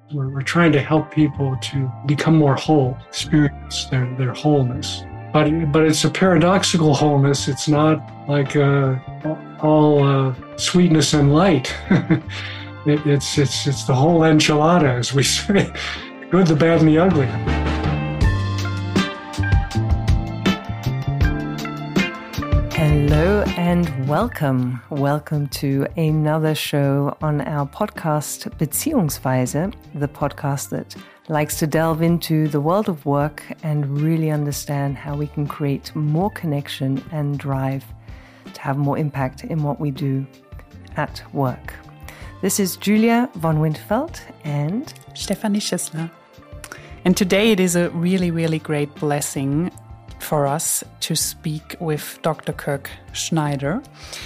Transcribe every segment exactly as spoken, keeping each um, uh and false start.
We're, we're trying to help people to become more whole, experience their, their wholeness. But but it's a paradoxical wholeness. It's not like uh, all uh, sweetness and light. it, it's it's it's the whole enchilada, as we say, the good, the bad, and the ugly. Hello and welcome. Welcome to another show on our podcast Beziehungsweise, the podcast that likes to delve into the world of work and really understand how we can create more connection and drive to have more impact in what we do at work. This is Julia von Winterfeld and Stefanie Schissler. And today it is a really, really great blessing for us to speak with Doctor Kirk Schneider,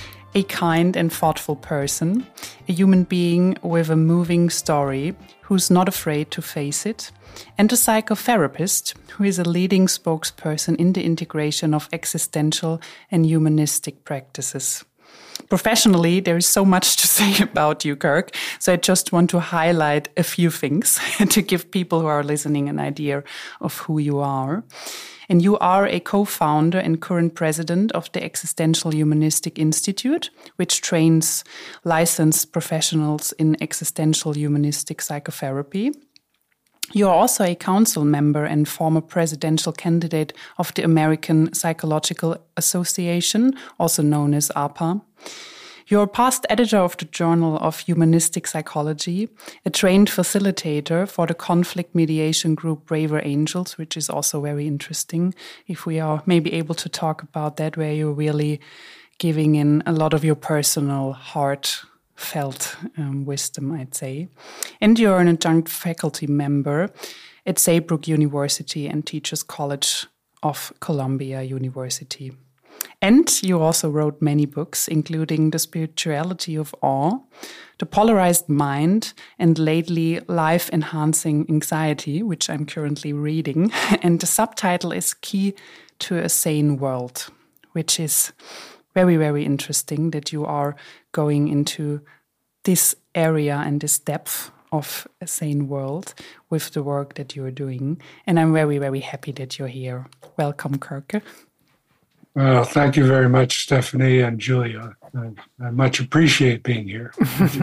a kind and thoughtful person, a human being with a moving story who's not afraid to face it, and a psychotherapist who is a leading spokesperson in the integration of existential and humanistic practices. Professionally, there is so much to say about you, Kirk, so I just want to highlight a few things to give people who are listening an idea of who you are. And you are a co-founder and current president of the Existential Humanistic Institute, which trains licensed professionals in existential humanistic psychotherapy. You are also a council member and former presidential candidate of the American Psychological Association, also known as A P A. You're a past editor of the Journal of Humanistic Psychology, a trained facilitator for the conflict mediation group Braver Angels, which is also very interesting. If we are maybe able to talk about that, where you're really giving in a lot of your personal, heartfelt um, wisdom, I'd say. And you're an adjunct faculty member at Saybrook University and Teachers College of Columbia University. And you also wrote many books, including The Spirituality of Awe, The Polarized Mind, and lately Life Enhancing Anxiety, which I'm currently reading. And the subtitle is Key to a Sane World, which is very, very interesting that you are going into this area and this depth of a sane world with the work that you're doing. And I'm very, very happy that you're here. Welcome, Kirk. Well, thank you very much, Stefanie and Julia. I, I much appreciate being here.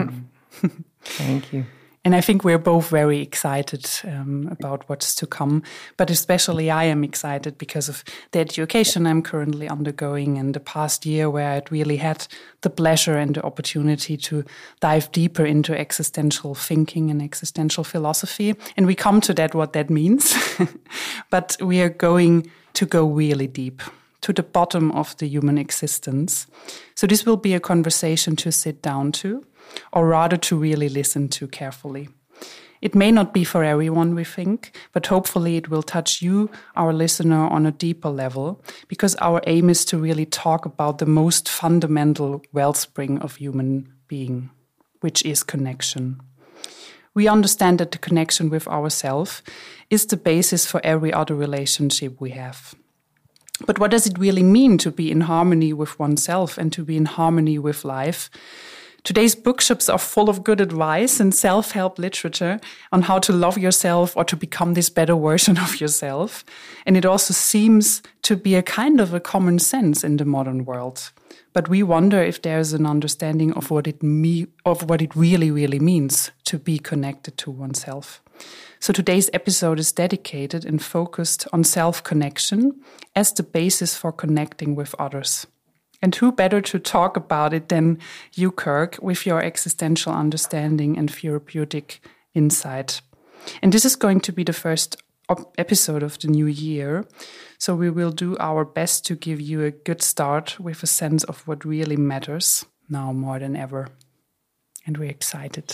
Thank you. And I think we're both very excited um, about what's to come. But especially I am excited because of the education I'm currently undergoing and the past year where I'd really had the pleasure and the opportunity to dive deeper into existential thinking and existential philosophy. And we come to that, what that means. But we are going to go really deep to the bottom of the human existence. So this will be a conversation to sit down to, or rather to really listen to carefully. It may not be for everyone, we think, but hopefully it will touch you, our listener, on a deeper level, because our aim is to really talk about the most fundamental wellspring of human being, which is connection. We understand that the connection with ourselves is the basis for every other relationship we have. But what does it really mean to be in harmony with oneself and to be in harmony with life? Today's bookshops are full of good advice and self-help literature on how to love yourself or to become this better version of yourself. And it also seems to be a kind of a common sense in the modern world. But we wonder if there's an understanding of what it me- of what it really, really means to be connected to oneself. So today's episode is dedicated and focused on self-connection as the basis for connecting with others. And who better to talk about it than you, Kirk, with your existential understanding and therapeutic insight. And this is going to be the first op- episode of the new year. So we will do our best to give you a good start with a sense of what really matters now more than ever. And we're excited.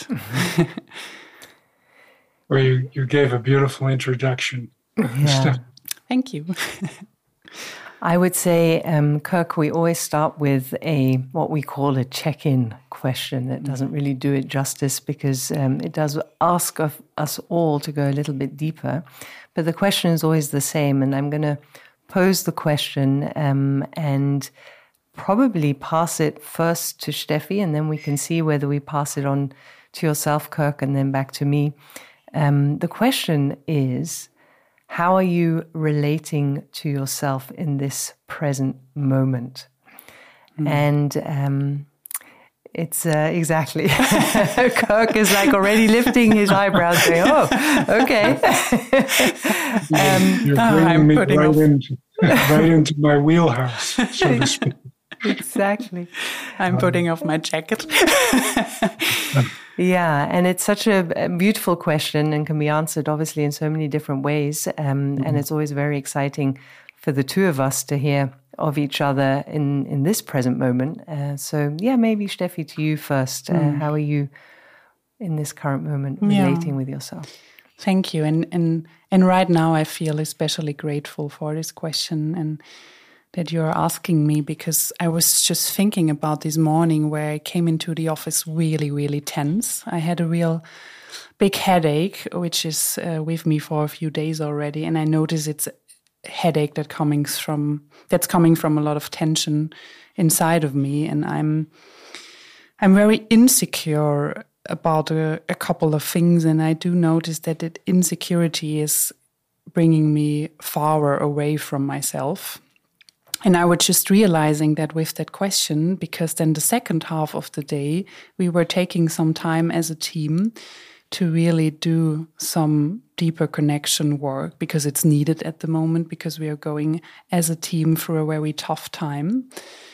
Well, you, you gave a beautiful introduction. Yeah. Thank you. I would say, um, Kirk, we always start with a what we call a check-in question that doesn't really do it justice because um, it does ask of us all to go a little bit deeper. But the question is always the same, and I'm going to pose the question um, and probably pass it first to Steffi, and then we can see whether we pass it on to yourself, Kirk, and then back to me. Um, the question is, how are you relating to yourself in this present moment? Mm. And um, it's uh, exactly, Kirk is like already lifting his eyebrows saying, oh, okay. um, You're bringing oh, me right into, right into my wheelhouse, so to speak. Exactly. I'm um, putting off my jacket. Yeah, and it's such a beautiful question and can be answered obviously in so many different ways. Um, mm-hmm. And it's always very exciting for the two of us to hear of each other in, in this present moment. Uh, so yeah, maybe Steffi, to you first. Mm. Uh, how are you in this current moment relating yeah. with yourself? Thank you. And, and, and right now I feel especially grateful for this question and that you're asking me, because I was just thinking about this morning where I came into the office really, really tense. I had a real big headache, which is uh, with me for a few days already. And I notice it's a headache that coming from, that's coming from a lot of tension inside of me. And I'm, I'm very insecure about a, a couple of things. And I do notice that that insecurity is bringing me far away from myself. And I was just realizing that with that question, because then the second half of the day, we were taking some time as a team to really do some deeper connection work, because it's needed at the moment, because we are going as a team through a very tough time.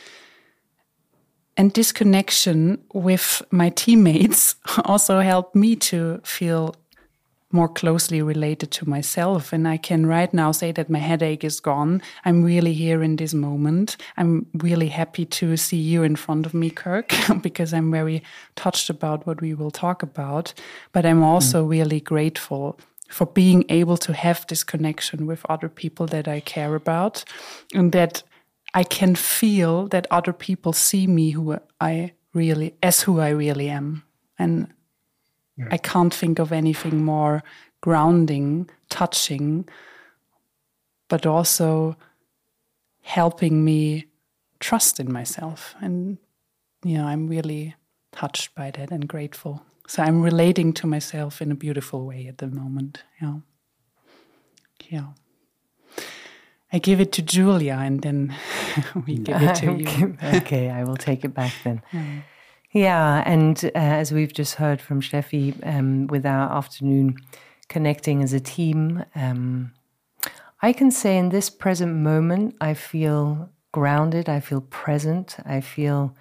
And this connection with my teammates also helped me to feel more closely related to myself. And I can right now say that my headache is gone. I'm really here in this moment. I'm really happy to see you in front of me, Kirk, because I'm very touched about what we will talk about. But I'm also mm. really grateful for being able to have this connection with other people that I care about, and that I can feel that other people see me who I really, as who I really am. And yeah. I can't think of anything more grounding, touching, but also helping me trust in myself. And, you know, I'm really touched by that and grateful. So I'm relating to myself in a beautiful way at the moment. Yeah. Yeah. I give it to Julia and then we give it to you. Okay, I will take it back then. Yeah. Yeah, and uh, as we've just heard from Steffi, um, with our afternoon connecting as a team, um, I can say in this present moment, I feel grounded, I feel present, I feel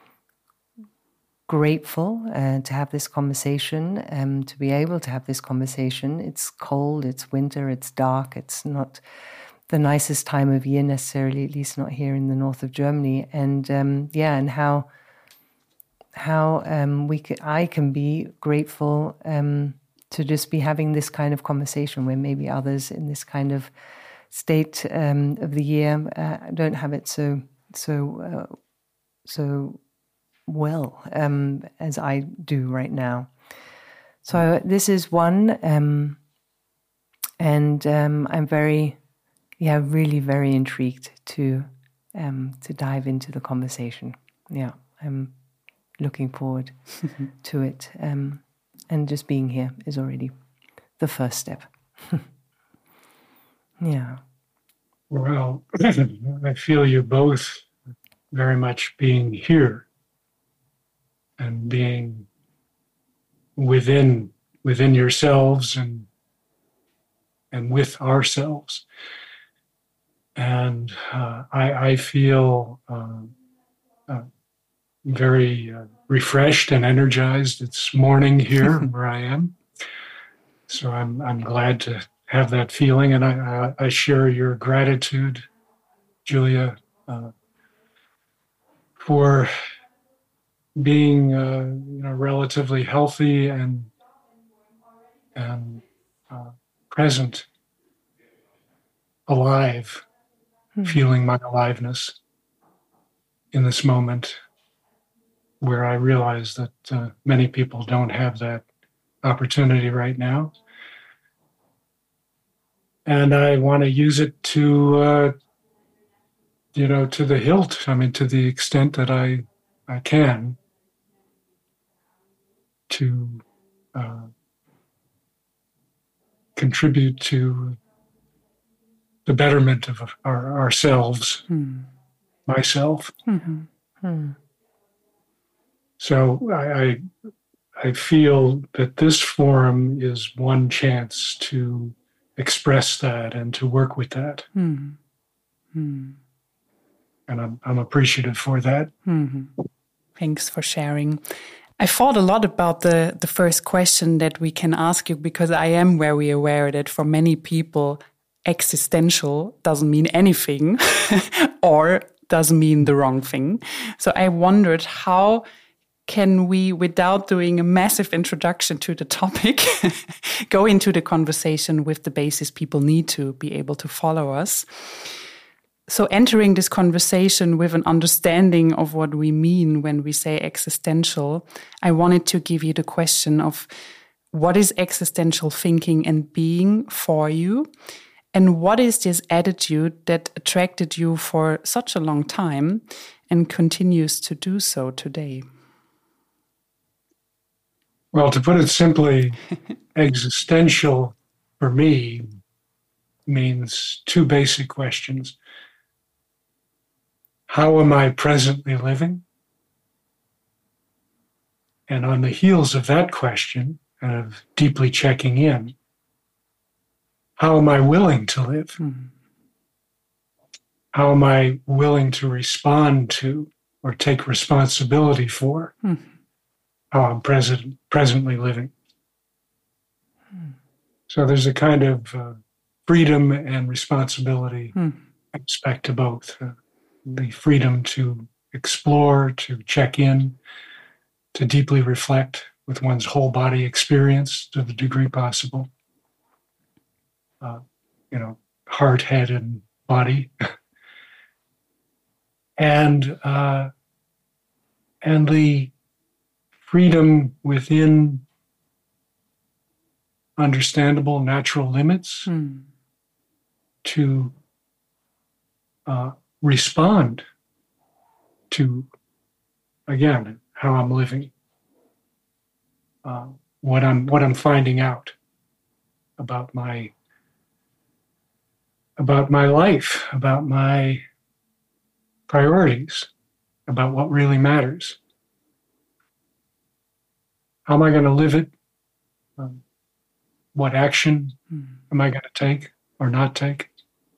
grateful uh, to have this conversation, um, to be able to have this conversation. It's cold, it's winter, it's dark, it's not the nicest time of year necessarily, at least not here in the north of Germany. And um, yeah, and how... how um, we can, I can be grateful um, to just be having this kind of conversation where maybe others in this kind of state um, of the year uh, don't have it so so uh, so well um, as I do right now. So this is one, um, and um, I'm very, yeah, really very intrigued to um, to dive into the conversation. Yeah, I'm looking forward to it. Um, and just being here is already the first step. Yeah. Well, I feel you both very much being here and being within within yourselves and and with ourselves. And uh, I, I feel uh, uh, very uh, refreshed and energized. It's morning here where I am. So I'm I'm glad to have that feeling. And I, I, I share your gratitude, Julia, uh, for being uh, you know, relatively healthy and, and uh, present, alive, mm-hmm. feeling my aliveness in this moment, where I realize that uh, many people don't have that opportunity right now. And I want to use it to, uh, you know, to the hilt. I mean, to the extent that I, I can, to uh, contribute to the betterment of our, ourselves, mm. myself. Mm-hmm. Mm. So I, I I feel that this forum is one chance to express that and to work with that. Mm. Mm. And I'm I'm appreciative for that. Mm-hmm. Thanks for sharing. I thought a lot about the, the first question that we can ask you, because I am very aware that for many people, existential doesn't mean anything or doesn't mean the wrong thing. So I wondered, how can we, without doing a massive introduction to the topic, go into the conversation with the basis people need to be able to follow us? So entering this conversation with an understanding of what we mean when we say existential, I wanted to give you the question of what is existential thinking and being for you? And what is this attitude that attracted you for such a long time and continues to do so today? Well, to put it simply, existential for me means two basic questions. How am I presently living? And on the heels of that question, and of deeply checking in, how am I willing to live? Mm-hmm. How am I willing to respond to or take responsibility for mm-hmm. how I'm present, presently living? Mm-hmm. So there's a kind of uh, freedom and responsibility mm-hmm. aspect to both. Uh, the freedom to explore, to check in, to deeply reflect with one's whole body experience to the degree possible. Uh, you know, heart, head, and body. and uh, and the freedom within understandable natural limits mm. to uh, respond to, again, how I'm living, uh, what I'm what I'm finding out about my about my life, about my priorities, about what really matters. How am I going to live it? Um, what action mm. am I going to take or not take?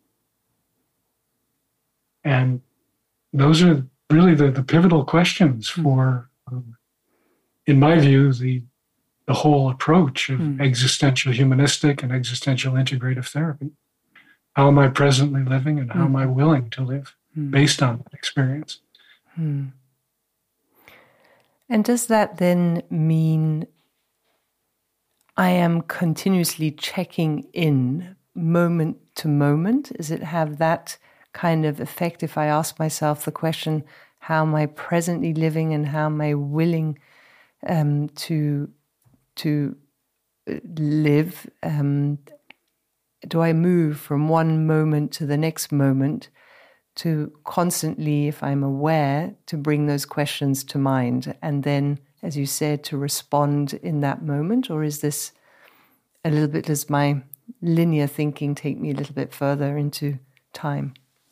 And those are really the, the pivotal questions for, um, in my view, the the whole approach of mm. existential humanistic and existential integrative therapy. How am I presently living, and how mm. am I willing to live mm. based on that experience? Mm. And does that then mean I am continuously checking in moment to moment? Does it have that kind of effect if I ask myself the question, how am I presently living and how am I willing um, to to live? Um, do I move from one moment to the next moment to constantly, if I'm aware, to bring those questions to mind and then, as you said, to respond in that moment? Or is this a little bit, does my linear thinking take me a little bit further into time?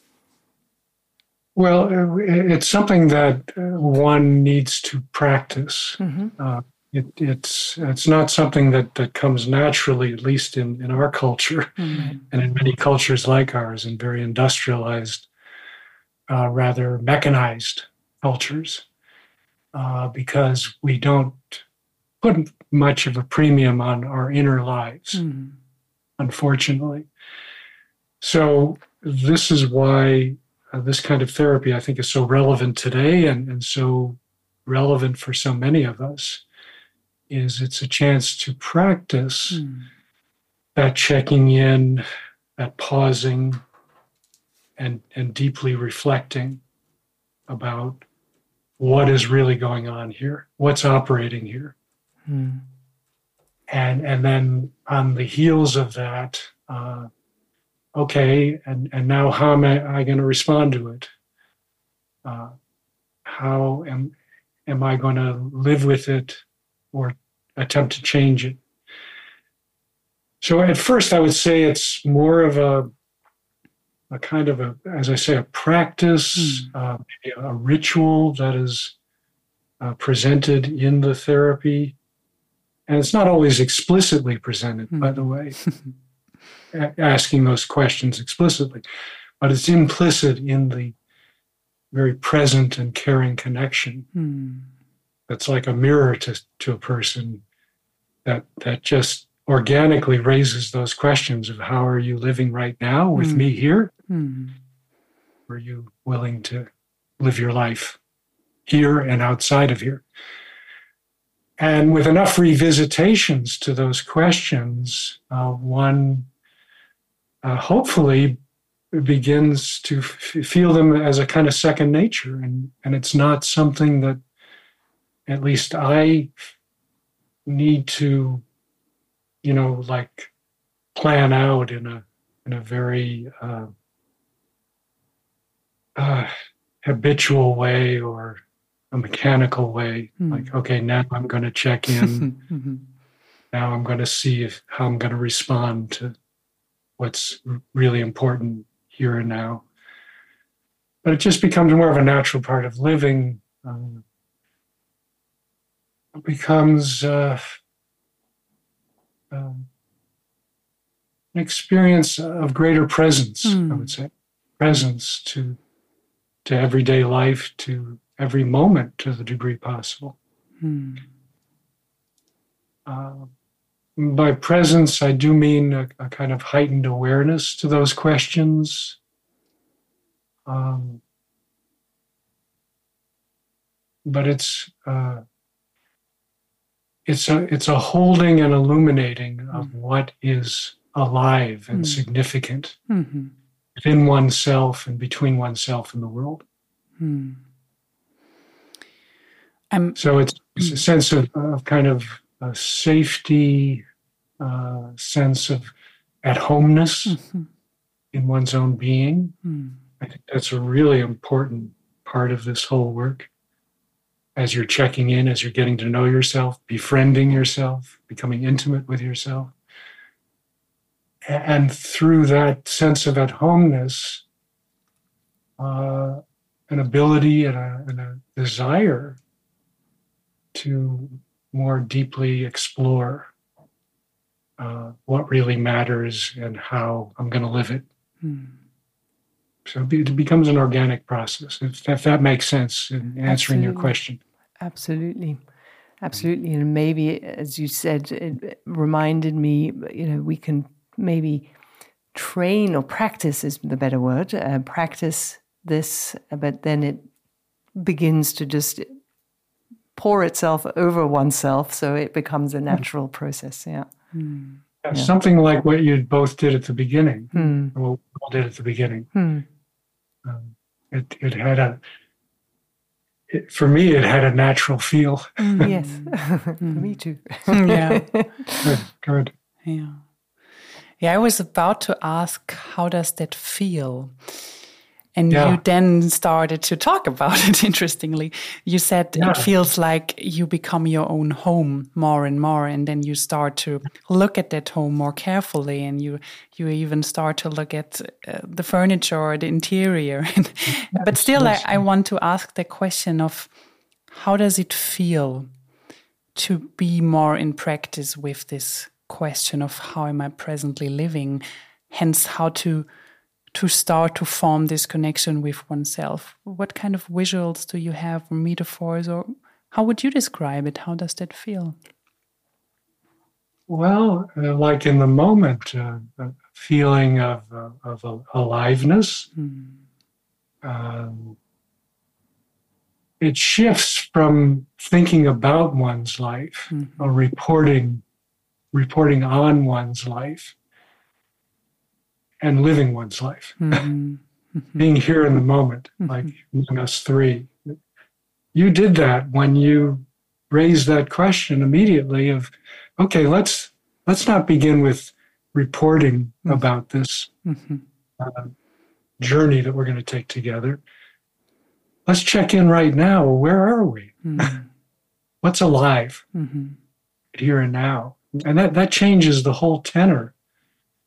Well, it's something that one needs to practice. Mm-hmm. Uh, it, it's it's not something that, that comes naturally, at least in, in our culture, mm-hmm. and in many cultures like ours, and very industrialized, uh, rather mechanized cultures, uh, because we don't put much of a premium on our inner lives, mm-hmm. unfortunately. So this is why Uh, this kind of therapy, I think, is so relevant today and, and so relevant for so many of us, is it's a chance to practice mm. that checking in, that pausing, and, and deeply reflecting about what is really going on here, what's operating here. Mm. And, and then on the heels of that, uh, okay, and, and now how am I, I going to respond to it? Uh, how am am I going to live with it or attempt to change it? So at first I would say it's more of a, a kind of a, as I say, a practice, mm. uh, maybe a ritual that is uh, presented in the therapy. And it's not always explicitly presented, mm. by the way, a- asking those questions explicitly, but it's implicit in the very present and caring connection. Mm. That's like a mirror to, to a person that that just organically raises those questions of how are you living right now with mm. me here? Mm. Are you willing to live your life here and outside of here? And with enough revisitations to those questions, uh, one uh, hopefully begins to f- feel them as a kind of second nature. And, and it's not something that at least I need to, you know, like plan out in a in a very uh, uh, habitual way or a mechanical way. Mm. Like, okay, now I'm going to check in. mm-hmm. Now I'm going to see if how I'm going to respond to what's really important here and now. But it just becomes more of a natural part of living. Um, it becomes uh, um, an experience of greater presence, mm. I would say. Presence to to everyday life, to every moment to the degree possible. Mm. Uh, by presence, I do mean a, a kind of heightened awareness to those questions. Um, but it's uh, it's a it's a holding and illuminating of mm. what is alive and mm. significant mm-hmm. within oneself and between oneself and the world. Mm. Um, so it's, it's a sense of, of kind of a safety, uh, sense of at-homeness mm-hmm. in one's own being. Mm. I think that's a really important part of this whole work. As you're checking in, as you're getting to know yourself, befriending yourself, becoming intimate with yourself. And through that sense of at-homeness, uh, an ability and a, and a desire to more deeply explore uh, what really matters and how I'm going to live it. Mm. So it becomes an organic process, if, if that makes sense in answering Absolutely. Your question. Absolutely. Absolutely. And maybe, as you said, it reminded me, you know, we can maybe train or practice is the better word, uh, practice this, but then it begins to just pour itself over oneself, so it becomes a natural process. Yeah. Mm. yeah, yeah. Something like what you both did at the beginning, mm. or what we all did at the beginning. Mm. Um, it it had a, it, for me, it had a natural feel. Mm, yes, for me too. yeah, good, good. Yeah, yeah. I was about to ask, how does that feel? And yeah. you then started to talk about it, interestingly. You said yeah. it feels like you become your own home more and more, and then you start to look at that home more carefully, and you you even start to look at uh, the furniture or the interior. But still, I, I want to ask the question of, how does it feel to be more in practice with this question of how am I presently living, hence how to to start to form this connection with oneself? What kind of visuals do you have, or metaphors, or how would you describe it? How does that feel? Well, uh, like in the moment, uh, a feeling of, uh, of uh, aliveness. Mm. Um, it shifts from thinking about one's life, mm-hmm. or reporting, reporting on one's life, and living one's life, mm-hmm. Mm-hmm. being here in the moment, mm-hmm. like among us three. You did that when you raised that question immediately of, okay, let's let's not begin with reporting mm-hmm. about this mm-hmm. uh, journey that we're going to take together. Let's check in right now. Where are we? Mm-hmm. What's alive mm-hmm. here and now? And that, that changes the whole tenor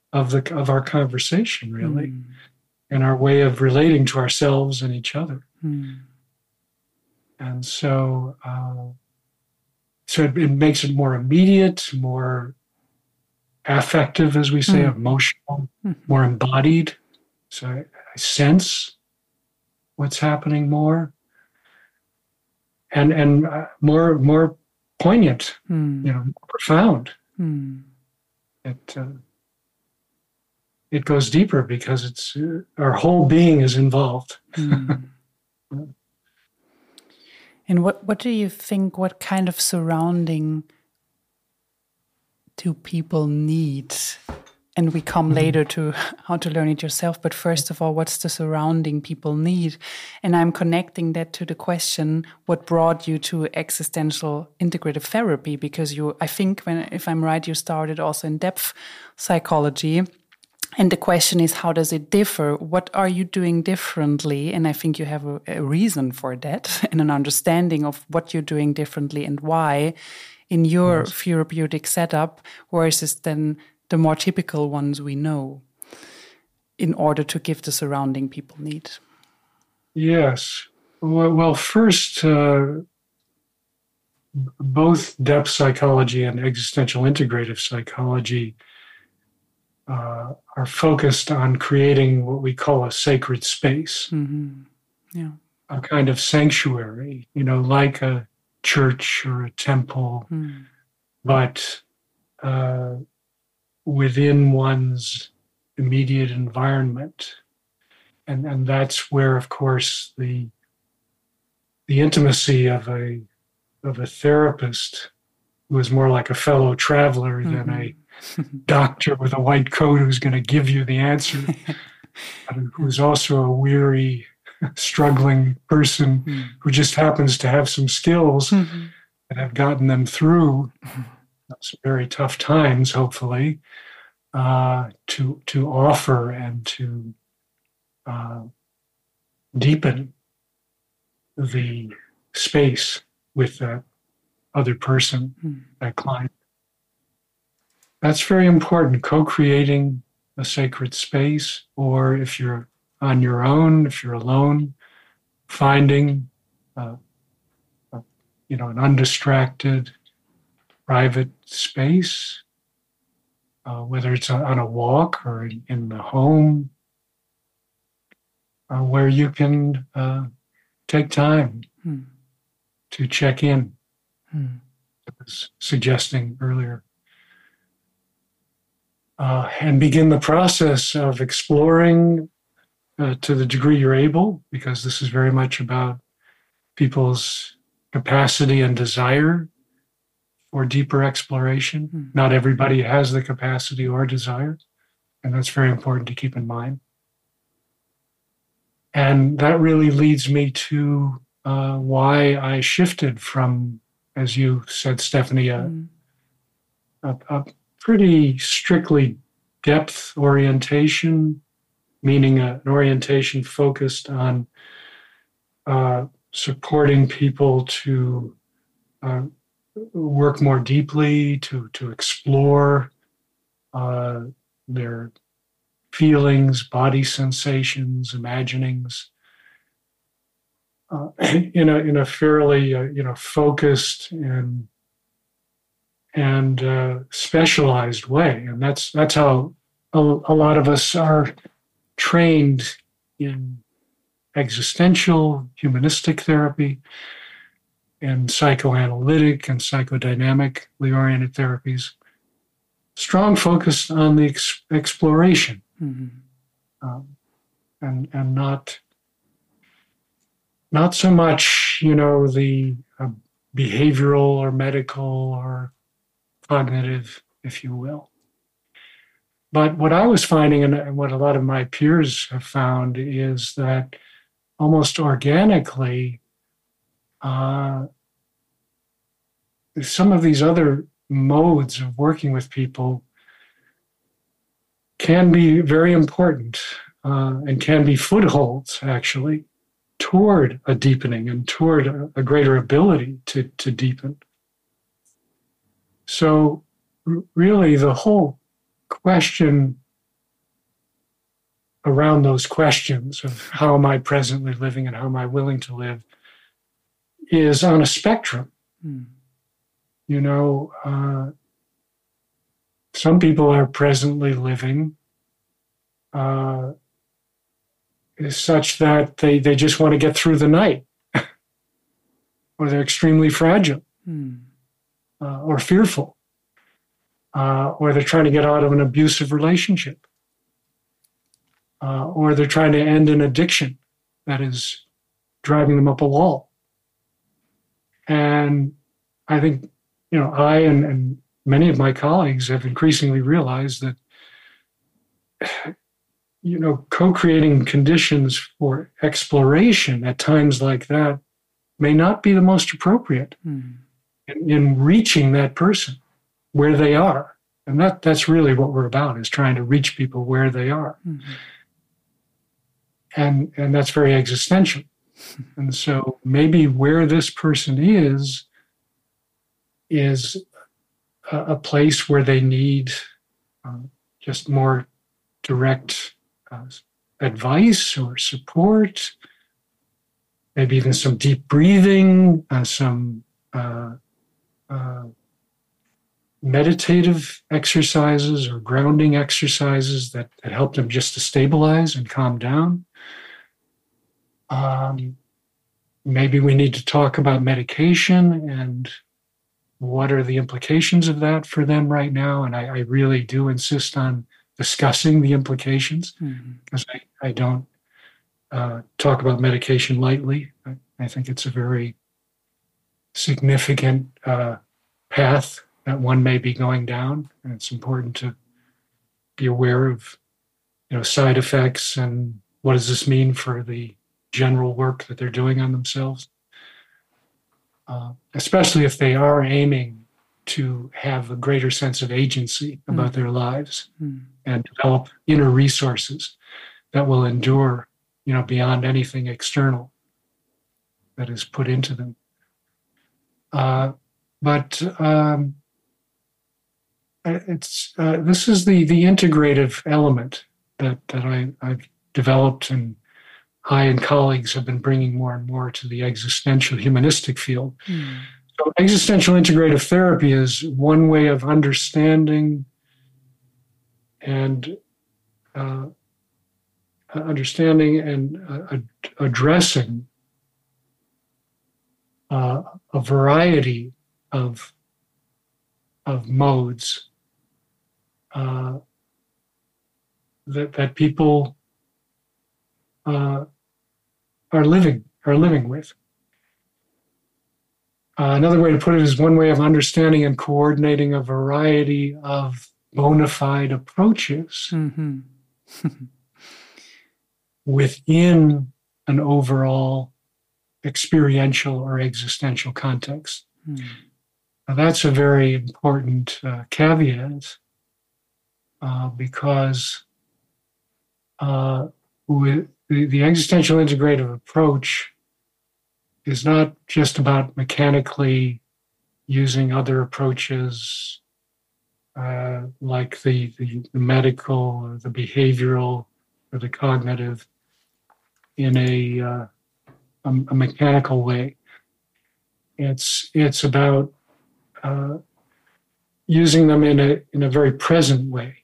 of the of our conversation, really, mm. and our way of relating to ourselves and each other. Mm. And so, uh, so it, it makes it more immediate, more affective, as we say, Mm. emotional, Mm. more embodied. So I, I sense what's happening more, and and uh, more more poignant, Mm. you know, profound. Mm. It uh, it goes deeper because it's uh, our whole being is involved. Mm. And what, what do you think, what kind of surrounding do people need? And we come Mm-hmm. later to how to learn it yourself. But first of all, what's the surrounding people need? And I'm connecting that to the question, what brought you to existential integrative therapy? Because you, I think, when if I'm right, you started also in depth psychology. And the question is, how does it differ? What are you doing differently? And I think you have a, a reason for that and an understanding of what you're doing differently and why in your Yes. therapeutic setup versus then the more typical ones we know in order to give the surrounding people need. Yes. Well, well first, uh, both depth psychology and existential integrative psychology uh, are focused on creating what we call a sacred space, Mm-hmm. Yeah. a kind of sanctuary, you know, like a church or a temple, Mm. but uh, within one's immediate environment. And, and that's where, of course, the the intimacy of a of a therapist who is more like a fellow traveler Mm-hmm. than a doctor with a white coat who's going to give you the answer, but who's also a weary, struggling person Mm. who just happens to have some skills Mm-hmm. that have gotten them through some very tough times, hopefully, uh, to to offer and to uh, deepen the space with that other person, Mm. that client. That's very important, co-creating a sacred space, or if you're on your own, if you're alone, finding uh, a, you know, an undistracted, private space, uh, whether it's on a walk or in, in the home, uh, where you can uh, take time Mm. to check in, Mm. I was suggesting earlier. Uh, and begin the process of exploring uh, to the degree you're able, because this is very much about people's capacity and desire for deeper exploration. Mm. Not everybody has the capacity or desire, and that's very important to keep in mind. And that really leads me to uh, why I shifted from, as you said, Stephanie, a, Mm. a, a pretty strictly depth orientation, meaning an orientation focused on uh, supporting people to uh, work more deeply, to, to explore uh, their feelings, body sensations, imaginings, uh, in a in a fairly uh, you know focused and and uh, specialized way, and that's that's how a, a lot of us are trained in existential humanistic therapy and psychoanalytic and psychodynamically oriented therapies. Strong focus on the ex- exploration, Mm-hmm. um, and and not not so much you know the uh, behavioral or medical or cognitive, if you will. But what I was finding, and what a lot of my peers have found, is that almost organically, uh, some of these other modes of working with people can be very important uh, and can be footholds, actually, toward a deepening and toward a, a greater ability to, to deepen. So, r- really, the whole question around those questions of how am I presently living and how am I willing to live is on a spectrum. Mm. You know, uh, some people are presently living uh, is such that they, they just want to get through the night, or they're extremely fragile, Mm. uh, or fearful, uh, or they're trying to get out of an abusive relationship, uh, or they're trying to end an addiction that is driving them up a wall. And I think, you know, I and, and many of my colleagues have increasingly realized that, you know, co-creating conditions for exploration at times like that may not be the most appropriate Mm. in, in reaching that person where they are. And that that's really what we're about, is trying to reach people where they are. Mm-hmm. And, and that's very existential. And so maybe where this person is, is a, a place where they need uh, just more direct uh, advice or support, maybe even some deep breathing, uh, some uh, uh, meditative exercises or grounding exercises that, that help them just to stabilize and calm down. Um, maybe we need to talk about medication and what are the implications of that for them right now. And I, I really do insist on discussing the implications, because mm-hmm. I, I don't uh, talk about medication lightly. I, I think it's a very significant uh, path that one may be going down. And it's important to be aware of, you know, side effects and what does this mean for the general work that they're doing on themselves, uh, especially if they are aiming to have a greater sense of agency about mm. their lives mm. and develop inner resources that will endure, you know, beyond anything external that is put into them. Uh, but um, it's uh, this is the the integrative element that that I, I've developed, and I and colleagues have been bringing more and more to the existential humanistic field. Mm. So existential integrative therapy is one way of understanding and uh, understanding and uh, ad- addressing uh, a variety of of modes uh, that that people uh, are living are living with. Uh, another way to put it is one way of understanding and coordinating a variety of bona fide approaches mm-hmm. within an overall experiential or existential context. Mm. Now, that's a very important uh, caveat uh, because uh, with the, the existential integrative approach is not just about mechanically using other approaches uh, like the, the, the medical or the behavioral or the cognitive in a, uh, a, a mechanical way. It's it's about uh, using them in a in a very present way.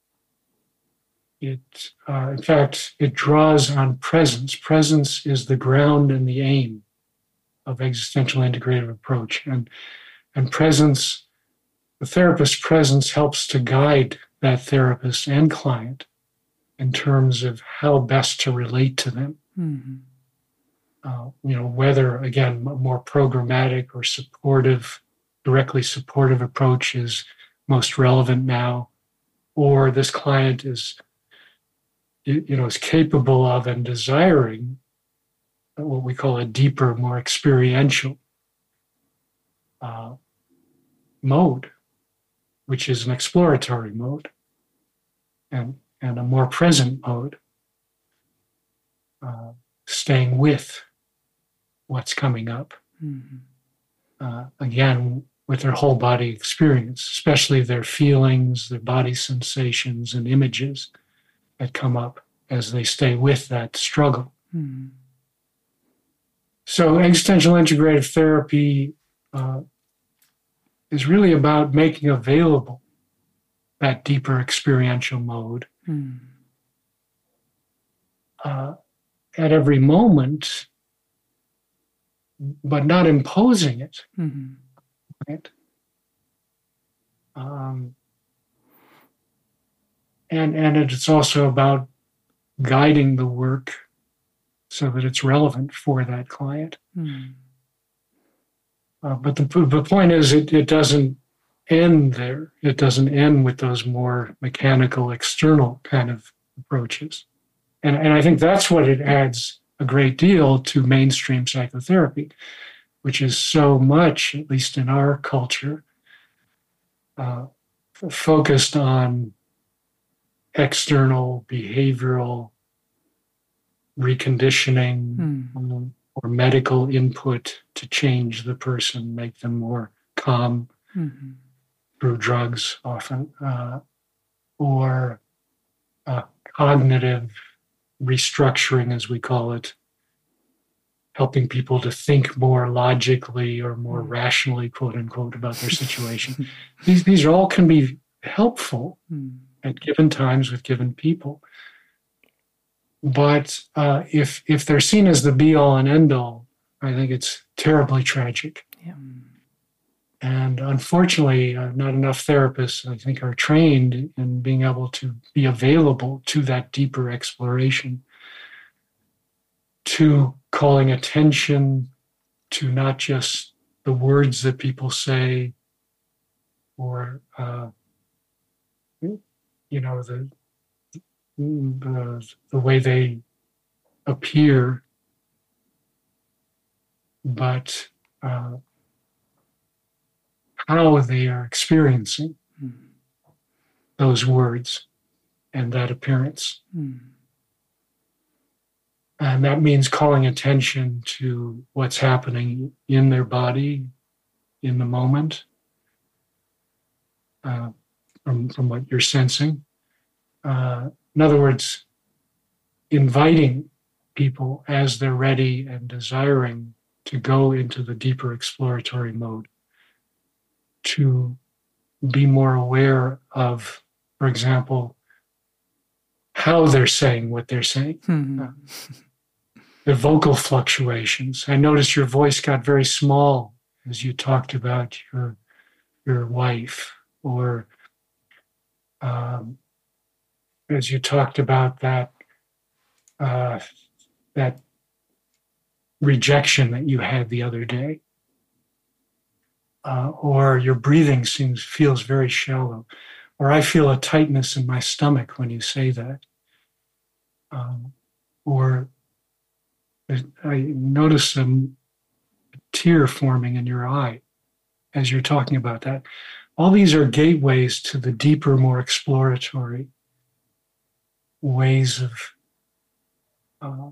It uh, in fact it draws on presence. Presence is the ground and the aim of existential integrative approach, and and presence, the therapist's presence helps to guide that therapist and client in terms of how best to relate to them. Mm-hmm. Uh, you know, whether again a more programmatic or supportive, directly supportive approach is most relevant now, or this client is you know is capable of and desiring what we call a deeper, more experiential uh, mode, which is an exploratory mode and, and a more present mode, uh, staying with what's coming up. Mm-hmm. Uh, again, with their whole body experience, especially their feelings, their body sensations and images that come up. as they stay with that struggle. Mm. So existential integrative therapy uh, is really about making available that deeper experiential mode Mm. uh, at every moment, but not imposing it. Mm-hmm. Right? Um, and and it's also about guiding the work so that it's relevant for that client. Mm. Uh, but the, the point is, it, it doesn't end there. It doesn't end with those more mechanical, external kind of approaches. And, and I think that's what it adds a great deal to mainstream psychotherapy, which is so much, at least in our culture, uh, f- focused on external behavioral reconditioning Mm. um, or medical input to change the person, make them more calm Mm-hmm. through drugs often, uh, or uh, cognitive restructuring, as we call it, helping people to think more logically or more Mm. rationally, quote unquote, about their situation. these, these all can be helpful Mm. at given times with given people. But uh, if if they're seen as the be-all and end-all, I think it's terribly tragic. Yeah. And unfortunately, uh, not enough therapists, I think, are trained in being able to be available to that deeper exploration, to calling attention to not just the words that people say or, uh, you know, the, the, the way they appear, but uh, how they are experiencing Mm. those words and that appearance. Mm. And that means calling attention to what's happening in their body in the moment, uh, from, from what you're sensing. Uh, in other words, inviting people as they're ready and desiring to go into the deeper exploratory mode, to be more aware of, for example, how they're saying what they're saying, Mm. the vocal fluctuations. I noticed your voice got very small as you talked about your your wife, or um, as you talked about that uh, that rejection that you had the other day. Uh, or your breathing seems feels very shallow, or I feel a tightness in my stomach when you say that, um, or I notice a tear forming in your eye as you're talking about that. All these are gateways to the deeper, more exploratory ways of uh,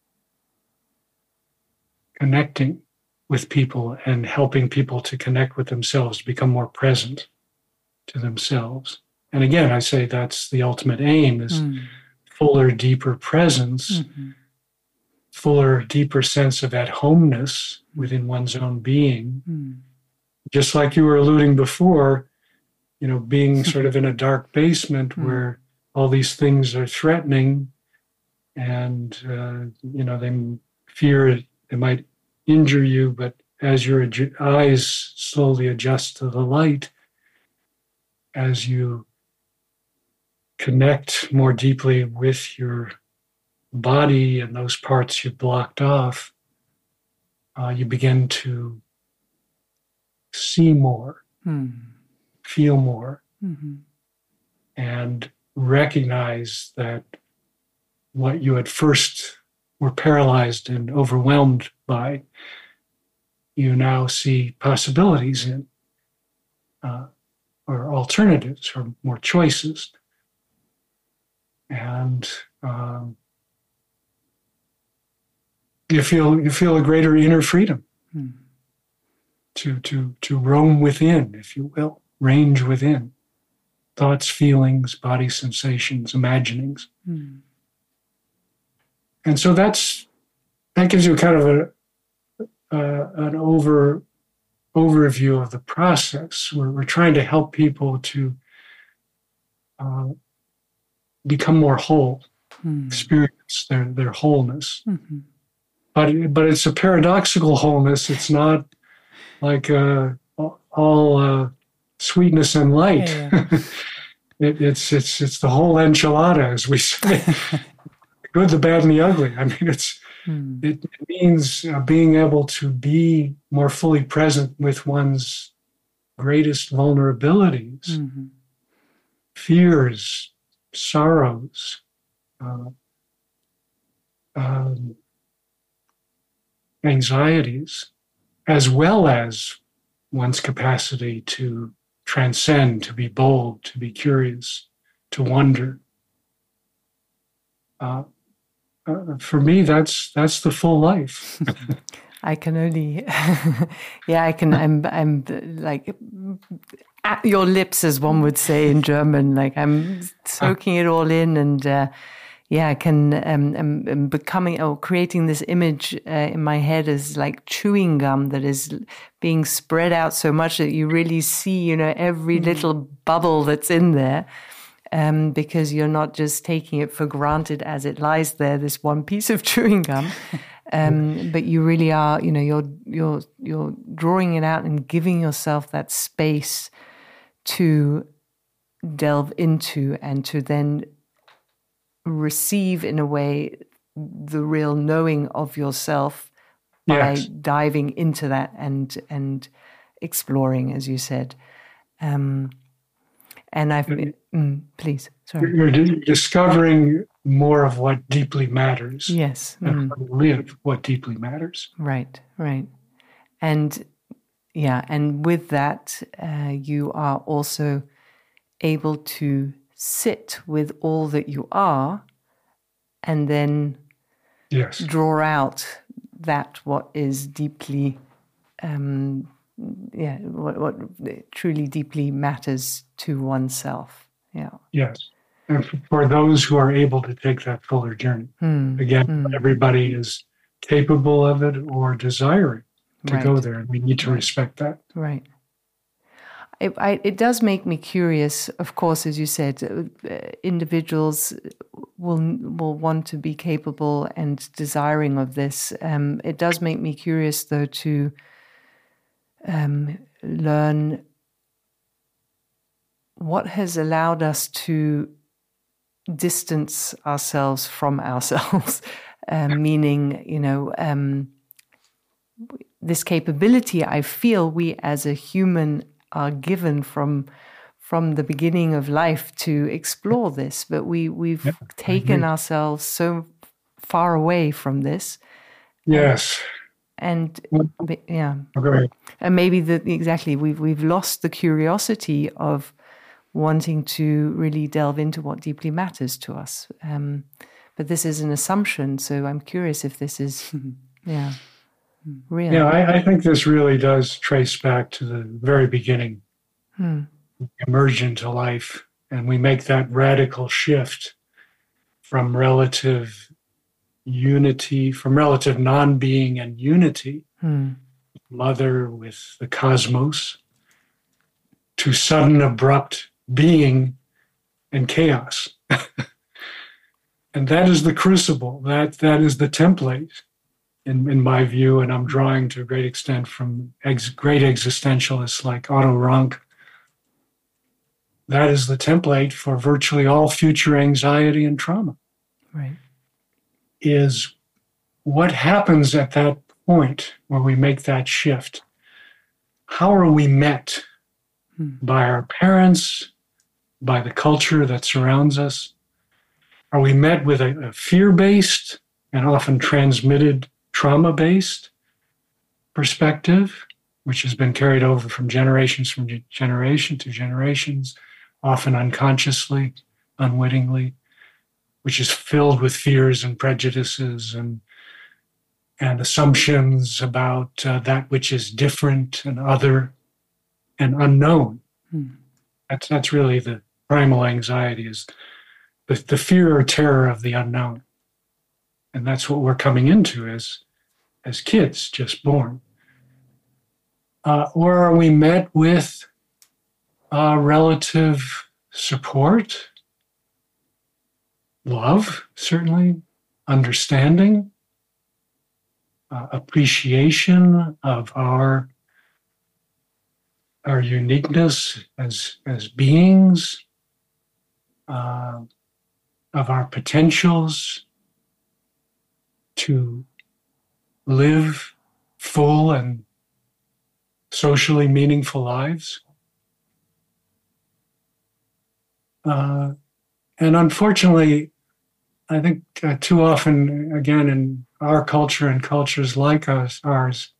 connecting with people and helping people to connect with themselves, become more present to themselves. And again, I say that's the ultimate aim, is Mm. fuller, deeper presence, Mm-hmm. fuller, deeper sense of at-homeness within one's own being. Mm. Just like you were alluding before, you know, being sort of in a dark basement Mm. where all these things are threatening and, uh, you know, they fear they might injure you, but as your adju- eyes slowly adjust to the light, as you connect more deeply with your body and those parts you blocked off, uh, you begin to see more, Mm. feel more, Mm-hmm. and recognize that what you at first were paralyzed and overwhelmed by, you now see possibilities in, uh, or alternatives, or more choices. And um, you feel you feel a greater inner freedom Mm. to to to roam within, if you will, range within thoughts, feelings, body sensations, imaginings. Mm. and so that's that gives you kind of a uh, an over overview of the process. We're, we're trying to help people to uh, become more whole, mm. experience their their wholeness. Mm-hmm. But but it's a paradoxical wholeness. It's not like uh, all uh, sweetness and light. Yeah, yeah. it, it's it's it's the whole enchilada, as we say, the good, the bad, and the ugly. I mean, it's hmm. it, it means uh, being able to be more fully present with one's greatest vulnerabilities, mm-hmm. fears, sorrows. Uh, um, anxieties, as well as one's capacity to transcend, to be bold, to be curious, to wonder. Uh, uh, for me, that's that's the full life. I can only, yeah, I can. I'm, I'm like at your lips, as one would say in German. Like I'm soaking it all in, and. Uh, Yeah, I can um, um, um, becoming or creating this image uh, in my head as like chewing gum that is being spread out so much that you really see, you know, every mm-hmm. little bubble that's in there, um, because you're not just taking it for granted as it lies there, this one piece of chewing gum, um, but you really are, you know, you're you're you're drawing it out and giving yourself that space to delve into and to then receive in a way the real knowing of yourself by yes. diving into that and and exploring, as you said. Um, and I've been, mm, please, sorry. You're discovering more of what deeply matters. Yes. And mm. live what deeply matters. Right, right. And yeah, and with that, uh, you are also able to sit with all that you are, and then yes. draw out that what is deeply, um, yeah, what, what truly deeply matters to oneself. Yeah. Yes, and for those who are able to take that fuller journey, mm. again, mm. everybody is capable of it or desiring to right. go there, and we need to right. respect that. Right. It, I, it does make me curious, of course, as you said, uh, individuals will will want to be capable and desiring of this. Um, it does make me curious, though, to um, learn what has allowed us to distance ourselves from ourselves, uh, meaning, you know, um, this capability I feel we as a human are given from from the beginning of life to explore this, but we we've yep, taken ourselves so far away from this. Yes, and yeah, okay. and maybe the exactly we've we've lost the curiosity of wanting to really delve into what deeply matters to us. Um, but this is an assumption, so I'm curious if this is yeah. Real. Yeah, I, I think this really does trace back to the very beginning, hmm. we emerge into life, and we make that radical shift from relative unity, from relative non-being and unity, hmm. mother with the cosmos, to sudden abrupt being and chaos. And that is the crucible, that that is the template. In, in my view, and I'm drawing to a great extent from ex, great existentialists like Otto Rank, that is the template for virtually all future anxiety and trauma. Right. Is what happens at that point where we make that shift? How are we met hmm. by our parents, by the culture that surrounds us? Are we met with a, a fear-based and often transmitted trauma-based perspective, which has been carried over from generations from generation to generations, often unconsciously, unwittingly, which is filled with fears and prejudices and and assumptions about uh, that which is different and other and unknown. Hmm. That's that's really the primal anxiety, is the, the fear or terror of the unknown. And that's what we're coming into as, as kids just born. Uh, or are we met with uh, relative support, love, certainly, understanding, uh, appreciation of our, our uniqueness as, as beings, uh, of our potentials to live full and socially meaningful lives. Uh, and unfortunately, I think uh, too often, again, in our culture and cultures like us, ours,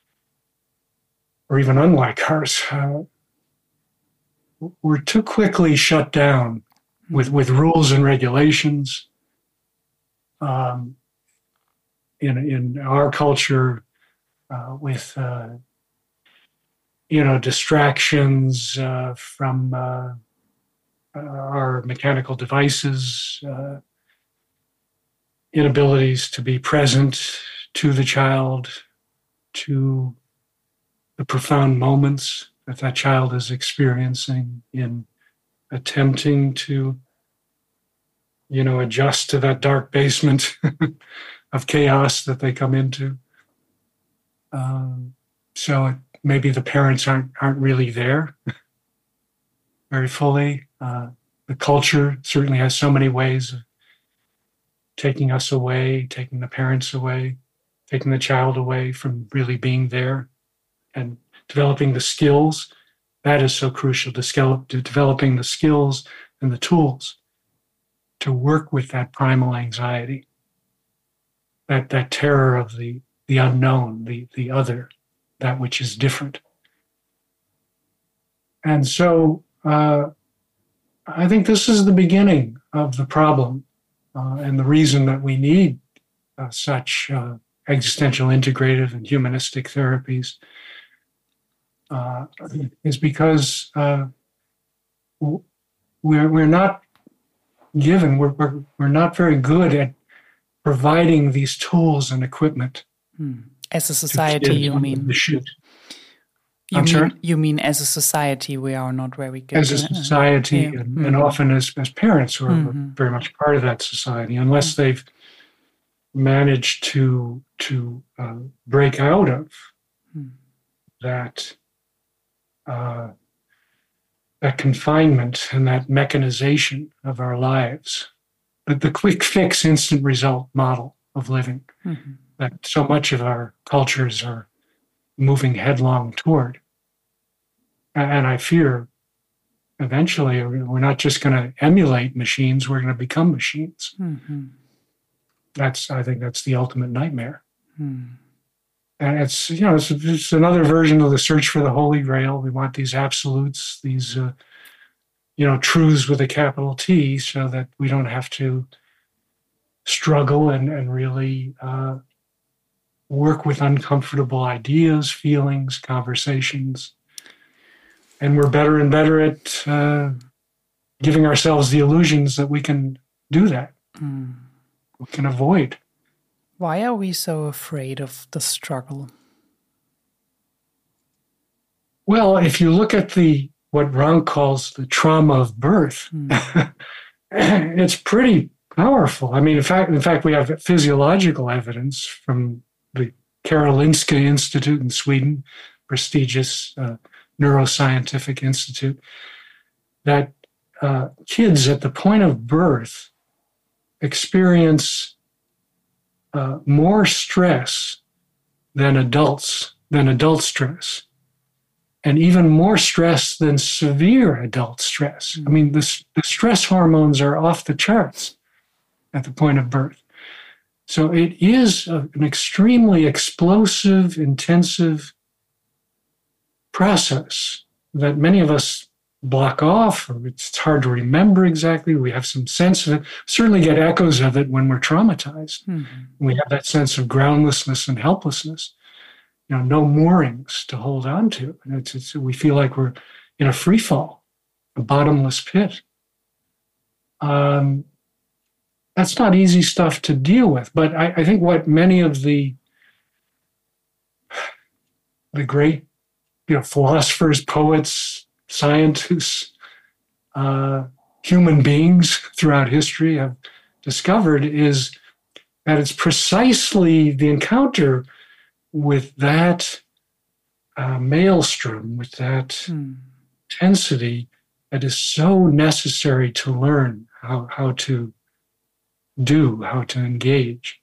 or even unlike ours, uh, we're too quickly shut down with, with rules and regulations. Um, in, in our culture, uh, with uh, you know, distractions uh, from uh, our mechanical devices, uh, inabilities to be present to the child, to the profound moments that that child is experiencing in attempting to, you know, adjust to that dark basement of chaos that they come into. Um, so it, maybe the parents aren't aren't really there very fully. Uh, the culture certainly has so many ways of taking us away, taking the parents away, taking the child away from really being there and developing the skills. That is so crucial, to, scale, to developing the skills and the tools to work with that primal anxiety, that, that terror of the, the unknown, the, the other, that which is different. And so uh, I think this is the beginning of the problem uh, and the reason that we need uh, such uh, existential integrative and humanistic therapies uh, is because uh, we're, we're not given, we're, we're, we're not very good at providing these tools and equipment. Hmm. As a society, you mean? You I'm mean, sorry? You mean as a society, we are not very good. As a society, yeah. and, mm-hmm. and often as, as parents who are mm-hmm. very much part of that society, unless mm-hmm. they've managed to to uh, break out of mm-hmm. that uh, that confinement and that mechanization of our lives, but the quick fix, instant result model of living mm-hmm. that so much of our cultures are moving headlong toward. And I fear eventually we're not just going to emulate machines, we're going to become machines. Mm-hmm. That's, I think that's the ultimate nightmare. Mm. And it's, you know, it's, it's another version of the search for the Holy Grail. We want these absolutes, these, uh, you know, truths with a capital T, so that we don't have to struggle and, and really uh, work with uncomfortable ideas, feelings, conversations. And we're better and better at uh, giving ourselves the illusions that we can do that. Mm. We can avoid. Why are we so afraid of the struggle? Well, if you look at the what Rank calls the trauma of birth, mm. it's pretty powerful. I mean, in fact, in fact, we have physiological evidence from the Karolinska Institute in Sweden, prestigious uh, neuroscientific institute, that uh, kids at the point of birth experience uh, more stress than adults, than adult stress, and even more stress than severe adult stress. Mm-hmm. I mean, the, the stress hormones are off the charts at the point of birth. So it is a, an extremely explosive, intensive process that many of us block off, or it's hard to remember exactly. We have some sense of it, certainly get echoes of it when we're traumatized. Mm-hmm. We have that sense of groundlessness and helplessness, you know, no moorings to hold on to. And it's, it's, we feel like we're in a free fall, a bottomless pit. Um, that's not easy stuff to deal with. But I, I think what many of the the great, you know, philosophers, poets, scientists, uh, human beings throughout history have discovered is that it's precisely the encounter with that uh, maelstrom, with that mm. intensity, that is so necessary to learn how, how to do, how to engage,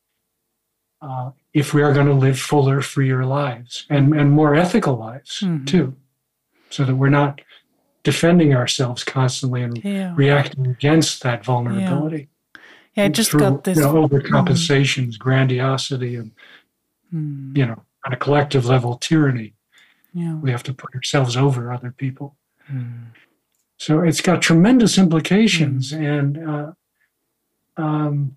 uh, if we are going to live fuller, freer lives and, and more ethical lives mm-hmm. too, so that we're not defending ourselves constantly and yeah. reacting against that vulnerability. Yeah, yeah I just through, got this. You know, overcompensations, mm. grandiosity, and, mm. you know, on a collective level, tyranny. Yeah. We have to put ourselves over other people. Mm. So it's got tremendous implications, mm. and uh, um,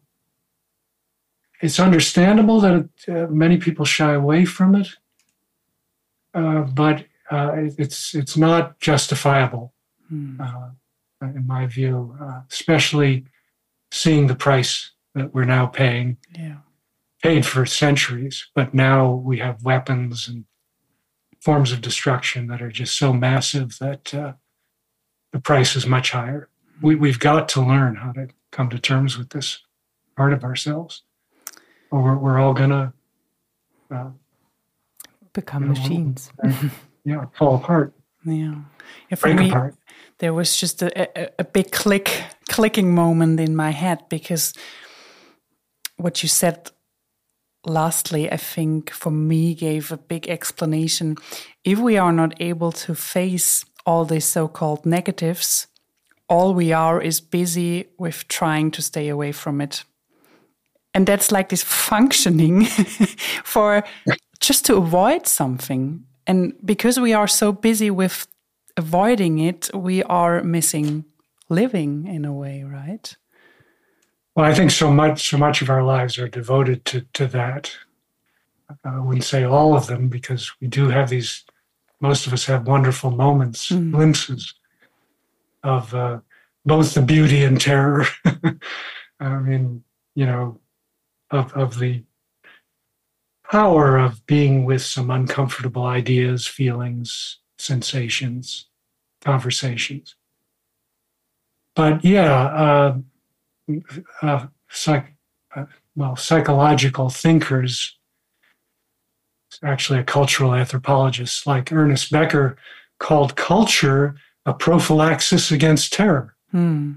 it's understandable that it, uh, many people shy away from it, uh, but uh, it's it's not justifiable, mm. uh, in my view, uh, especially seeing the price that we're now paying, yeah. paid for centuries, but now we have weapons and forms of destruction that are just so massive that uh, the price is much higher. We, we've got to learn how to come to terms with this part of ourselves, or we're, we're all going to uh, become you know, machines. Yeah, fall apart. Yeah, yeah for break me, apart. There was just a, a, a big click, clicking moment in my head, because what you said lastly, I think for me gave a big explanation. If we are not able to face all these so-called negatives, all we are is busy with trying to stay away from it. And that's like this functioning for just to avoid something. And because we are so busy with avoiding it, we are missing living in a way, right? Well, I think so much, so much of our lives are devoted to, to that. I wouldn't say all of them, because we do have these, most of us have wonderful moments, mm. glimpses of uh, both the beauty and terror. I mean, you know, of, of the power of being with some uncomfortable ideas, feelings, sensations, conversations. But yeah, uh, uh, psych, uh, well, psychological thinkers, actually a cultural anthropologist like Ernest Becker, called culture a prophylaxis against terror. Hmm.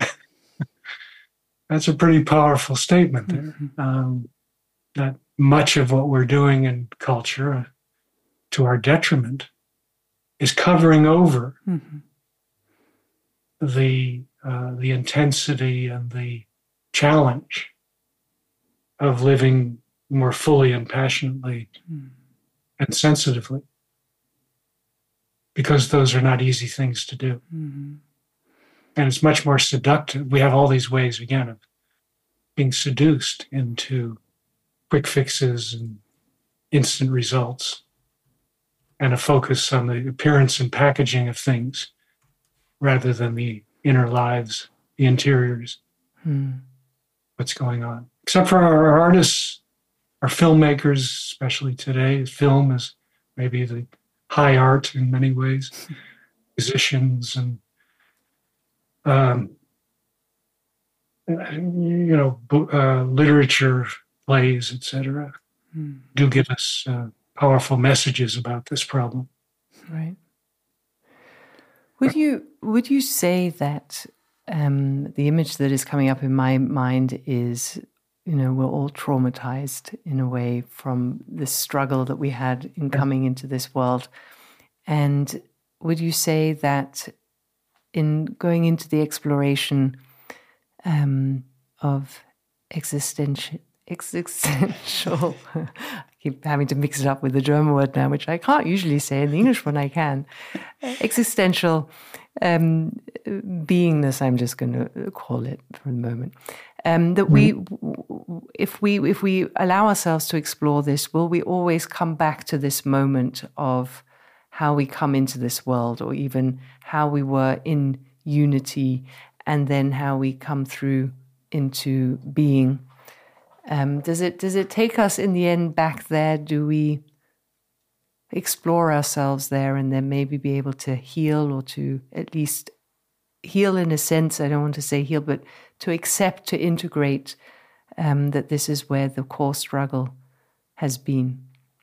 That's a pretty powerful statement there. Mm-hmm. Um, that much of what we're doing in culture, uh, to our detriment, is covering over mm-hmm. the uh, the intensity and the challenge of living more fully and passionately mm. and sensitively, because those are not easy things to do. Mm-hmm. And it's much more seductive. We have all these ways, again, of being seduced into quick fixes and instant results, and a focus on the appearance and packaging of things rather than the inner lives, the interiors, mm. what's going on. Except for our artists, our filmmakers, especially today. Film is maybe the high art in many ways. Musicians and Um, you know, uh, literature, plays, et cetera, mm. do give us uh, powerful messages about this problem. Right. Would you would you say that um, the image that is coming up in my mind is, you know, we're all traumatized in a way from the struggle that we had in coming into this world, and would you say that in going into the exploration um, of existential, existential, I keep having to mix it up with the German word now, which I can't usually say. In the English one I can. Existential um, beingness, I'm just going to call it for the moment. Um, that we, if we, if we allow ourselves to explore this, will we always come back to this moment of how we come into this world, or even how we were in unity, and then how we come through into being. Um, does it does it take us in the end back there? Do we explore ourselves there and then maybe be able to heal, or to at least heal in a sense? I don't want to say heal, but to accept, to integrate um, that this is where the core struggle has been.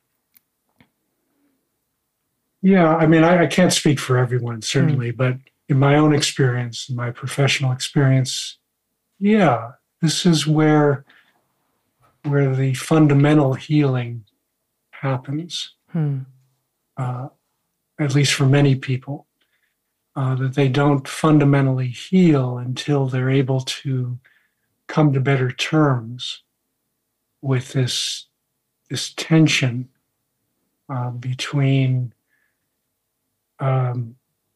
Yeah, I mean, I, I can't speak for everyone, certainly, mm. but in my own experience, in my professional experience, yeah, this is where where the fundamental healing happens, hmm. uh, at least for many people, uh, that they don't fundamentally heal until they're able to come to better terms with this, this tension uh, between um,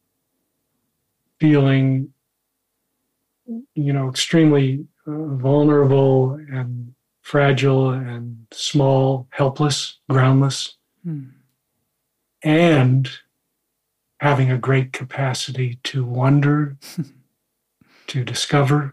feeling, you know, extremely uh, vulnerable and fragile and small, helpless, groundless, hmm. and having a great capacity to wonder, to discover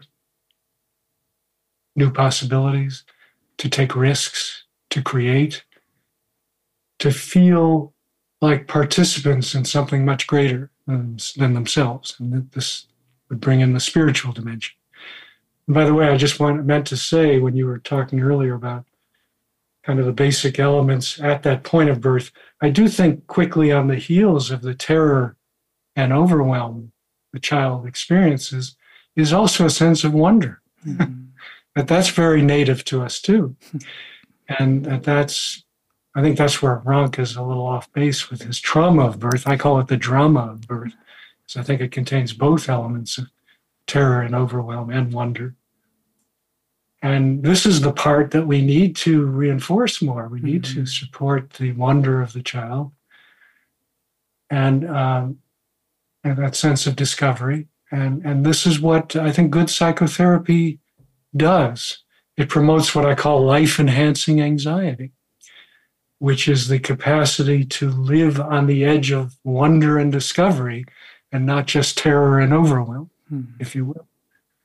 new possibilities, to take risks, to create, to feel like participants in something much greater than, than themselves. And this would bring in the spiritual dimension. And by the way, I just want, meant to say, when you were talking earlier about kind of the basic elements at that point of birth, I do think quickly on the heels of the terror and overwhelm the child experiences is also a sense of wonder. Mm-hmm. That that's very native to us too. And that that's, I think that's where Rank is a little off base with his trauma of birth. I call it the drama of birth, because I think it contains both elements of terror and overwhelm and wonder. And this is the part that we need to reinforce more. We need mm-hmm. to support the wonder of the child and, um, and that sense of discovery. And, and this is what I think good psychotherapy does. It promotes what I call life-enhancing anxiety, which is the capacity to live on the edge of wonder and discovery and not just terror and overwhelm, mm-hmm. if you will.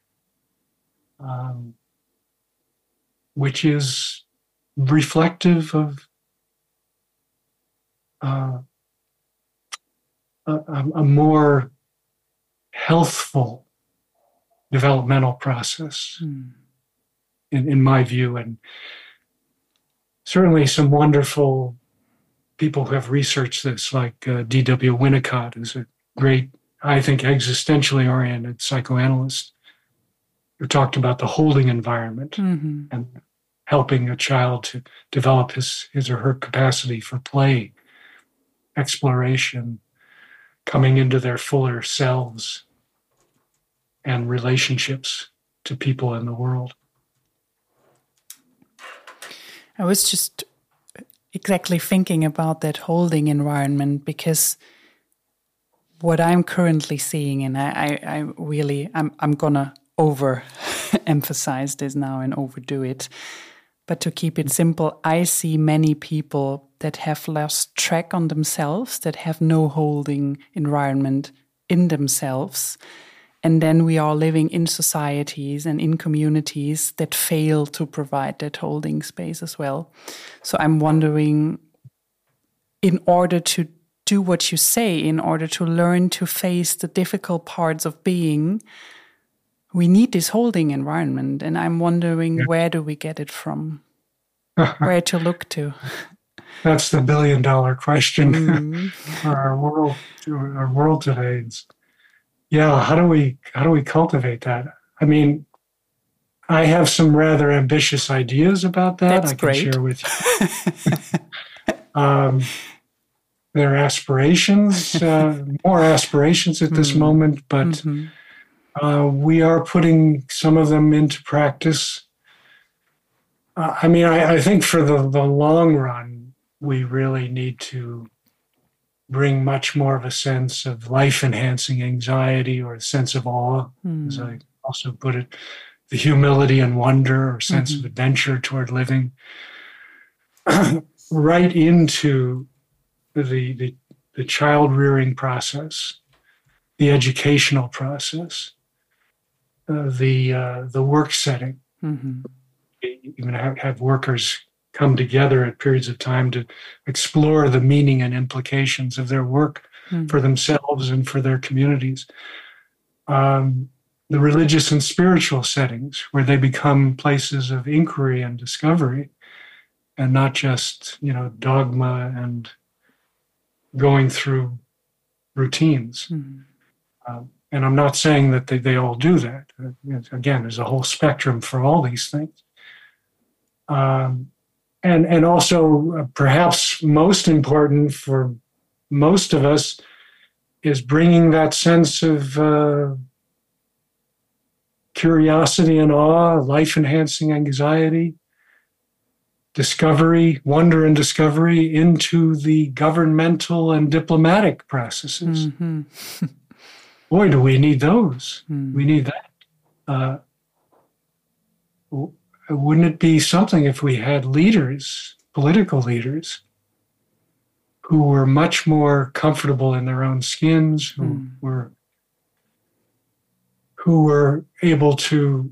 Um, which is reflective of uh, a, a more healthful developmental process, mm. in, in my view. And certainly some wonderful people who have researched this, like uh, D W Winnicott, who's a great, I think, existentially oriented psychoanalyst, who talked about the holding environment mm-hmm. and helping a child to develop his, his or her capacity for play, exploration, coming into their fuller selves, and relationships to people in the world. I was just exactly thinking about that holding environment, because what I'm currently seeing, and I, I, I really, I'm, I'm gonna over emphasize this now and overdo it. But to keep it simple, I see many people that have lost track on themselves, that have no holding environment in themselves. And then we are living in societies and in communities that fail to provide that holding space as well. So I'm wondering, in order to do what you say, in order to learn to face the difficult parts of being, we need this holding environment. And I'm wondering, yeah. where do we get it from? Where to look to? That's the billion dollar question mm. for our world, our world today. It's, yeah, how do we how do we cultivate that? I mean, I have some rather ambitious ideas about that. That's I can great. share with you. um, there are aspirations, uh, more aspirations at this mm. moment, but mm-hmm. uh, we are putting some of them into practice. Uh, I mean, I, I think for the, the long run, we really need to bring much more of a sense of life-enhancing anxiety, or a sense of awe, mm. as I also put it, the humility and wonder, or sense mm-hmm. of adventure toward living, right into the, the, the child-rearing process, the educational process. uh, the uh, the work setting. Mm-hmm. Even have, have workers come together at periods of time to explore the meaning and implications of their work mm-hmm. for themselves and for their communities. Um, the religious and spiritual settings, where they become places of inquiry and discovery, and not just, you know, dogma and going through routines. Mm-hmm. Um, and I'm not saying that they, they all do that. Uh, again, there's a whole spectrum for all these things. Um, and, and also, uh, perhaps most important for most of us, is bringing that sense of uh, curiosity and awe, life-enhancing anxiety, discovery, wonder and discovery into the governmental and diplomatic processes. Mm-hmm. Boy, do we need those. Mm. We need that. Uh, wouldn't it be something if we had leaders, political leaders, who were much more comfortable in their own skins, who mm. were who were able to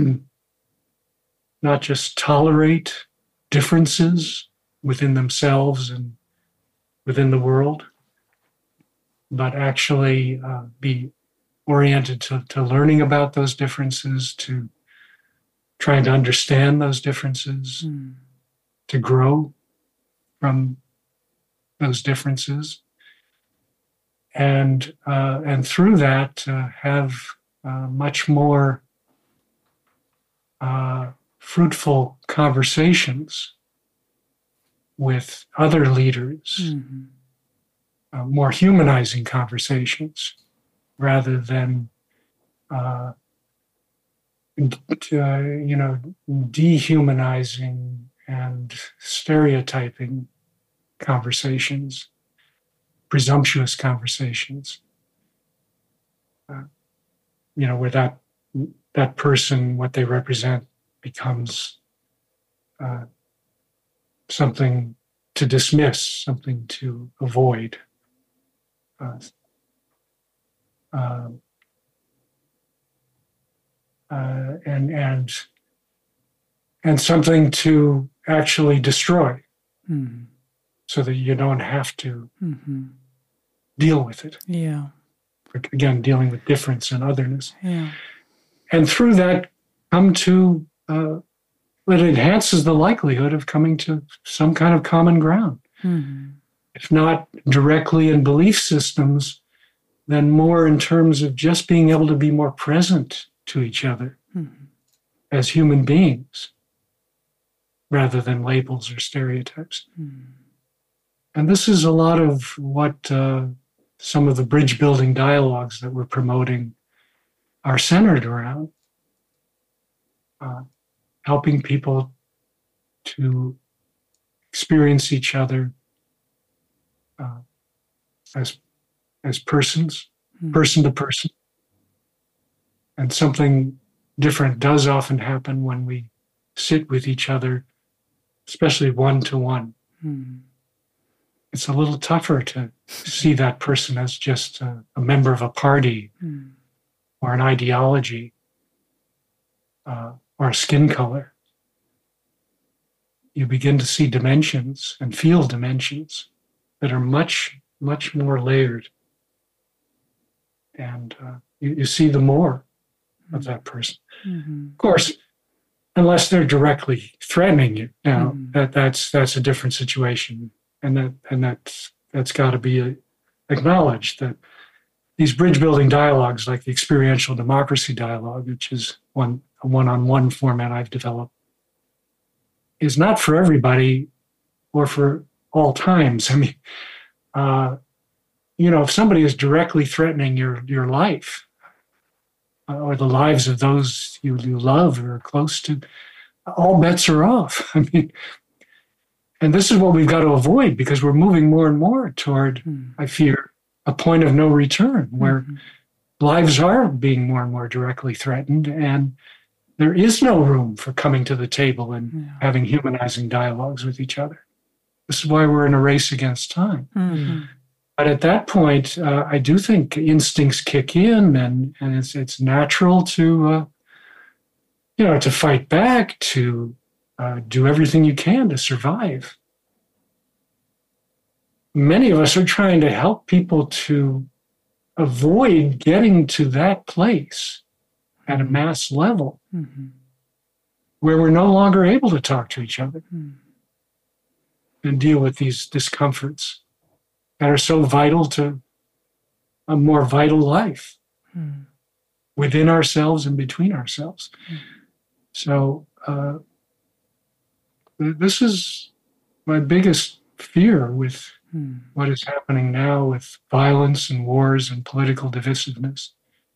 not just tolerate differences within themselves and within the world, but actually uh, be oriented to, to learning about those differences, to trying to understand those differences, mm. to grow from those differences, and uh, and through that uh, have uh, much more uh, fruitful conversations with other leaders, mm-hmm. uh, more humanizing conversations, rather than uh, uh, you know, dehumanizing and stereotyping conversations, presumptuous conversations. Uh, you know, where that that person, what they represent, becomes uh, something to dismiss, something to avoid. Uh, uh, uh, and and and something to actually destroy, mm-hmm. so that you don't have to mm-hmm. deal with it. Yeah. Again, dealing with difference and otherness. Yeah. And through that, come to, uh, it enhances the likelihood of coming to some kind of common ground. Mm-hmm. If not directly in belief systems, then more in terms of just being able to be more present to each other mm-hmm. as human beings, rather than labels or stereotypes. Mm-hmm. And this is a lot of what uh, some of the bridge building dialogues that we're promoting are centered around. Uh, helping people to experience each other uh, as as persons, mm-hmm. person to person. And something different does often happen when we sit with each other, especially one-to-one. Mm-hmm. It's a little tougher to see that person as just a, a member of a party mm. or an ideology uh, or a skin color. You begin to see dimensions and feel dimensions that are much, much more layered. And uh, you, you see the more mm. of that person. Mm-hmm. Of course, unless they're directly threatening you. Now, mm. that, that's that's a different situation. And that and that's that's got to be acknowledged, that these bridge building dialogues, like the experiential democracy dialogue, which is one a one-on-one format I've developed, is not for everybody or for all times. I mean, uh, you know, if somebody is directly threatening your your life uh, or the lives of those you, you love or are close to, all bets are off. I mean. And this is what we've got to avoid, because we're moving more and more toward, mm. I fear, a point of no return, where mm-hmm. lives are being more and more directly threatened, and there is no room for coming to the table and yeah. having humanizing dialogues with each other. This is why we're in a race against time. Mm-hmm. But at that point, uh, I do think instincts kick in, and, and it's it's natural to, uh, you know, to fight back, to uh, do everything you can to survive. Many of us are trying to help people to avoid getting to that place at a mass level mm-hmm. where we're no longer able to talk to each other mm. and deal with these discomforts that are so vital to a more vital life mm. within ourselves and between ourselves. Mm. So uh, this is my biggest fear with mm. what is happening now with violence and wars and political divisiveness,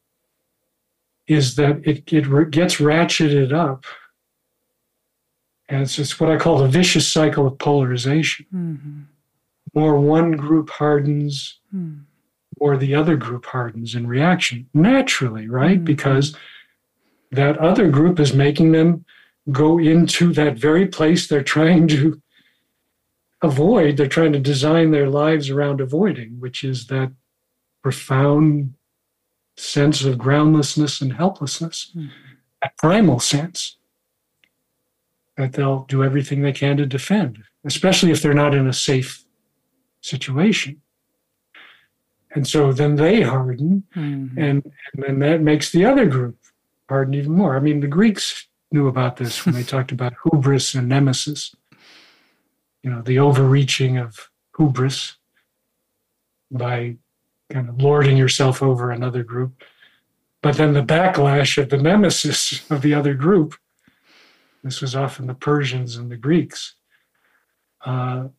is that it, it gets ratcheted up. And it's just what I call the vicious cycle of polarization. Mm-hmm. More one group hardens, mm. or the other group hardens in reaction, naturally, right? Mm-hmm. Because that other group is making them go into that very place they're trying to avoid. They're trying to design their lives around avoiding, which is that profound sense of groundlessness and helplessness, mm-hmm. that primal sense that they'll do everything they can to defend, especially if they're not in a safe situation. And so then they harden, mm-hmm. and, and then that makes the other group harden even more. I mean, the Greeks knew about this when they talked about hubris and nemesis, you know, the overreaching of hubris by kind of lording yourself over another group, but then the backlash of the nemesis of the other group. This was often the Persians and the Greeks. Uh,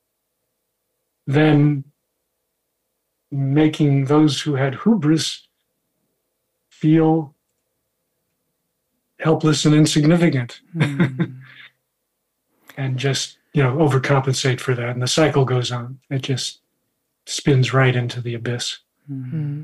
then making those who had hubris feel helpless and insignificant, mm. and just, you know, overcompensate for that. And the cycle goes on. It just spins right into the abyss. Mm-hmm.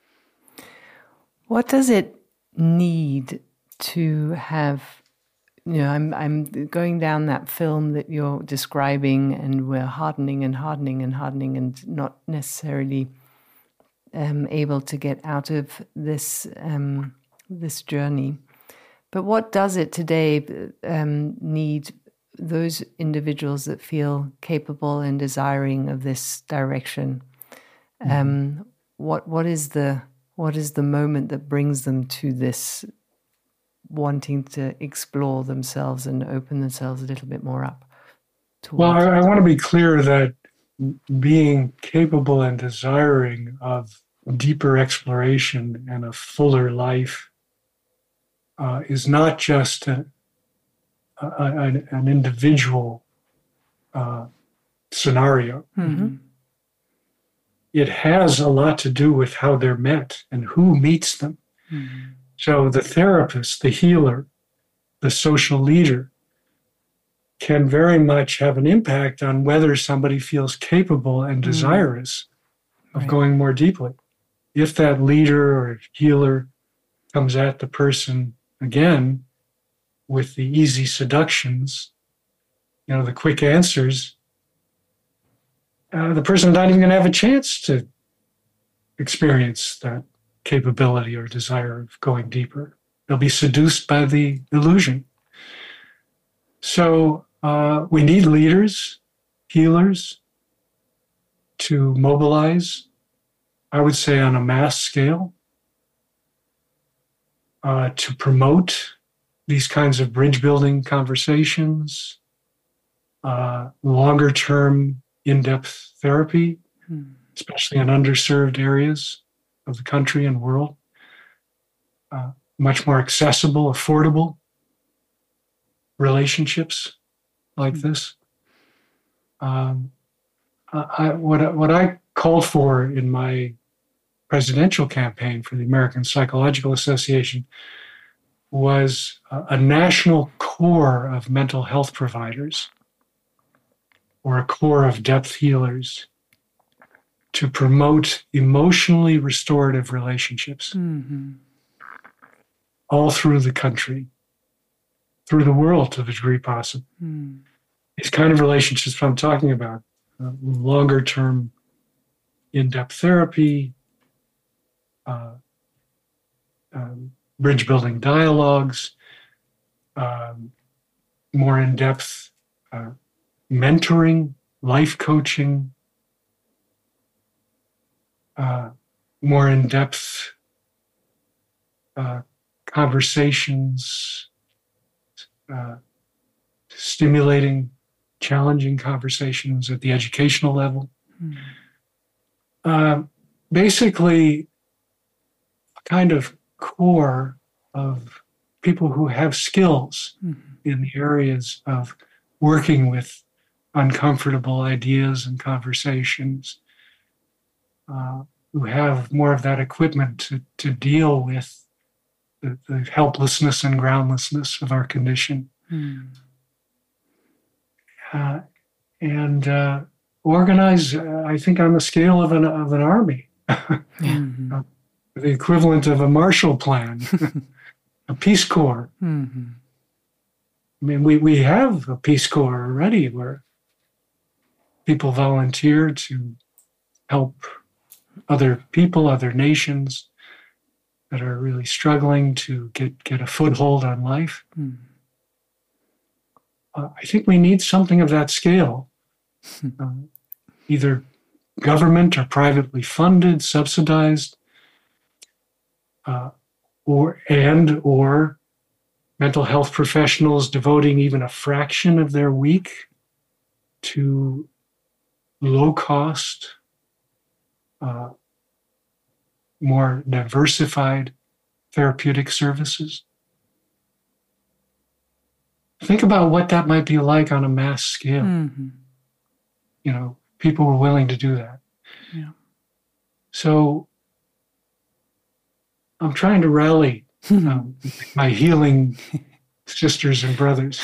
What does it need to have? You know, I'm I'm going down that film that you're describing, and we're hardening and hardening and hardening, and not necessarily um, able to get out of this um, this journey. But what does it today um, need? Those individuals that feel capable and desiring of this direction, mm-hmm. um, what what is the what is the moment that brings them to this wanting to explore themselves and open themselves a little bit more up? Well, I, I want to be clear that being capable and desiring of deeper exploration and a fuller life uh, is not just a, a, an individual uh, scenario. Mm-hmm. It has a lot to do with how they're met and who meets them. Mm-hmm. So the therapist, the healer, the social leader can very much have an impact on whether somebody feels capable and desirous mm. of right. going more deeply. If that leader or healer comes at the person again with the easy seductions, you know, the quick answers, uh, the person's not even going to have a chance to experience that capability or desire of going deeper. They'll be seduced by the illusion. So uh, we need leaders, healers, to mobilize, I would say on a mass scale, uh, to promote these kinds of bridge-building conversations, uh, longer-term, in-depth therapy, hmm. especially in underserved areas of the country and world, uh, much more accessible, affordable relationships like hmm. this. Um, I, what, what I called for in my presidential campaign for the American Psychological Association was a, a national core of mental health providers or a core of depth healers to promote emotionally restorative relationships mm-hmm. all through the country, through the world to the degree possible. Mm. These kind of relationships I'm talking about, uh, longer term in-depth therapy, uh, um, bridge-building dialogues, um, more in-depth uh, mentoring, life coaching, uh, more in-depth uh, conversations, uh, stimulating, challenging conversations at the educational level. Mm. Uh, basically, a kind of core of people who have skills mm-hmm. in the areas of working with uncomfortable ideas and conversations, uh, who have more of that equipment to, to deal with the, the helplessness and groundlessness of our condition. Mm. Uh, and uh, organize, uh, I think, on the scale of an of an army, mm-hmm. uh, the equivalent of a Marshall Plan, a Peace Corps. Mm-hmm. I mean, we, we have a Peace Corps already where people volunteer to help other people, other nations that are really struggling to get, get a foothold on life. Mm. Uh, I think we need something of that scale, uh, either government or privately funded, subsidized, uh, or and or mental health professionals devoting even a fraction of their week to low-cost, uh, more diversified therapeutic services. Think about what that might be like on a mass scale. Mm-hmm. You know, people were willing to do that. Yeah. So I'm trying to rally um, my healing sisters and brothers.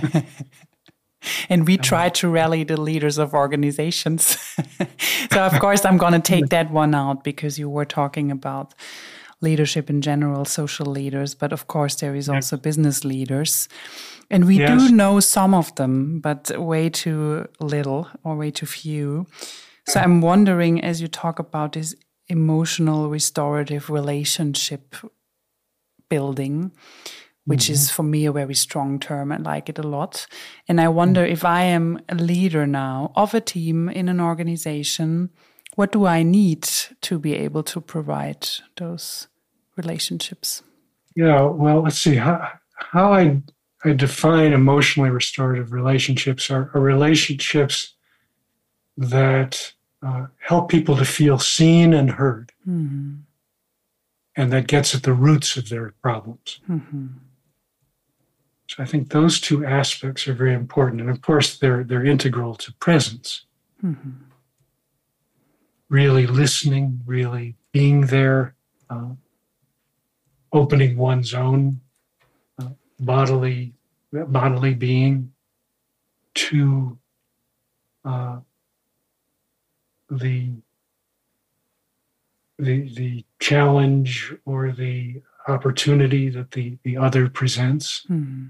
And we try to rally the leaders of organizations. So, of course, I'm going to take that one out because you were talking about leadership in general, social leaders, but of course there is also yeah. business leaders. And we yes. do know some of them, but way too little or way too few. So I'm wondering, as you talk about this emotional restorative relationship building, which mm-hmm. is for me a very strong term. I like it a lot. And I wonder mm-hmm. if I am a leader now of a team in an organization, what do I need to be able to provide those relationships? Yeah, well, let's see. How, how I, I define emotionally restorative relationships are, are relationships that uh, help people to feel seen and heard. Mm-hmm. And that gets at the roots of their problems. Mm-hmm. So I think those two aspects are very important. And of course, they're, they're integral to presence. Mm-hmm. Really listening, really being there, uh, opening one's own uh, bodily bodily being to uh, the the the challenge or the opportunity that the, the other presents. Mm-hmm.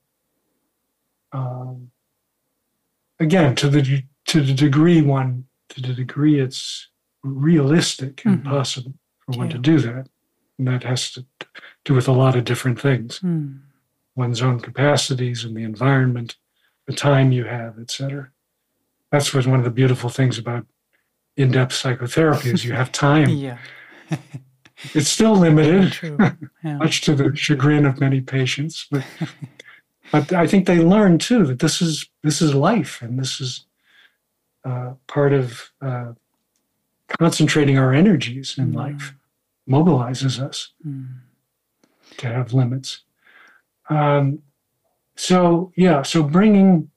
Um, again, to the to the degree one. To the degree it's realistic and mm-hmm. possible for one yeah. to do that. And that has to do with a lot of different things. Mm. One's own capacities and the environment, the time you have, et cetera. That's what's one of the beautiful things about in-depth psychotherapy is you have time. yeah. It's still limited, True. Yeah. much to the chagrin of many patients. But but I think they learn too that this is this is life and this is Uh, part of uh, concentrating our energies in mm. life mobilizes us mm. to have limits. Um, so, yeah, so bringing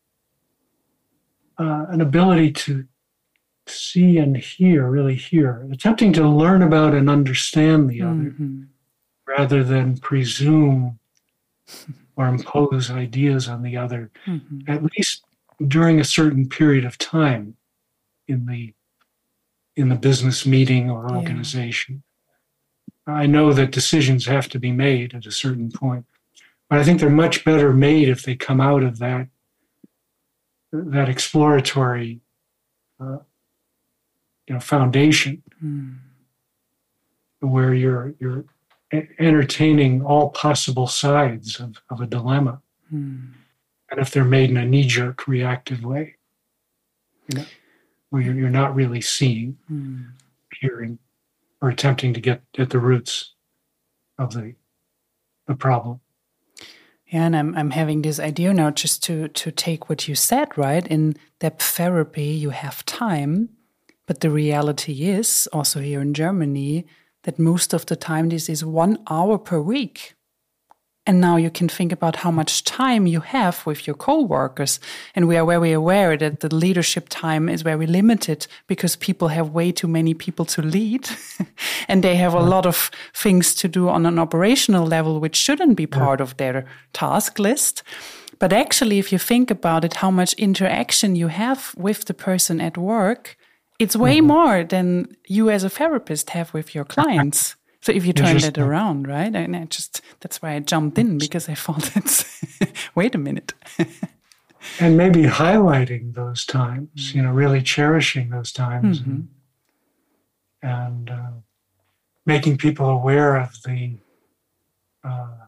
uh, an ability to see and hear, really hear, attempting to learn about and understand the other mm-hmm. rather than presume or impose ideas on the other, mm-hmm. at least during a certain period of time in the in the business meeting or organization. Yeah. I know that decisions have to be made at a certain point, but I think they're much better made if they come out of that that exploratory uh, you know, foundation mm. where you're you're entertaining all possible sides of, of a dilemma. Mm. And if they're made in a knee-jerk reactive way, you know, where you're, you're not really seeing, mm. hearing, or attempting to get at the roots of the the problem. Yeah, and I'm I'm having this idea now just to to take what you said, right? In depth therapy, you have time, but the reality is also here in Germany that most of the time this is one hour per week. And now you can think about how much time you have with your co-workers. And we are very aware that the leadership time is very limited because people have way too many people to lead. And they have a lot of things to do on an operational level, which shouldn't be part of their task list. But actually, if you think about it, how much interaction you have with the person at work, it's way mm-hmm. more than you as a therapist have with your clients. So if you turn that around, right? And I just, that's why I jumped in, because I thought it's, wait a minute. And maybe highlighting those times, you know, really cherishing those times mm-hmm. and, and uh, making people aware of the uh,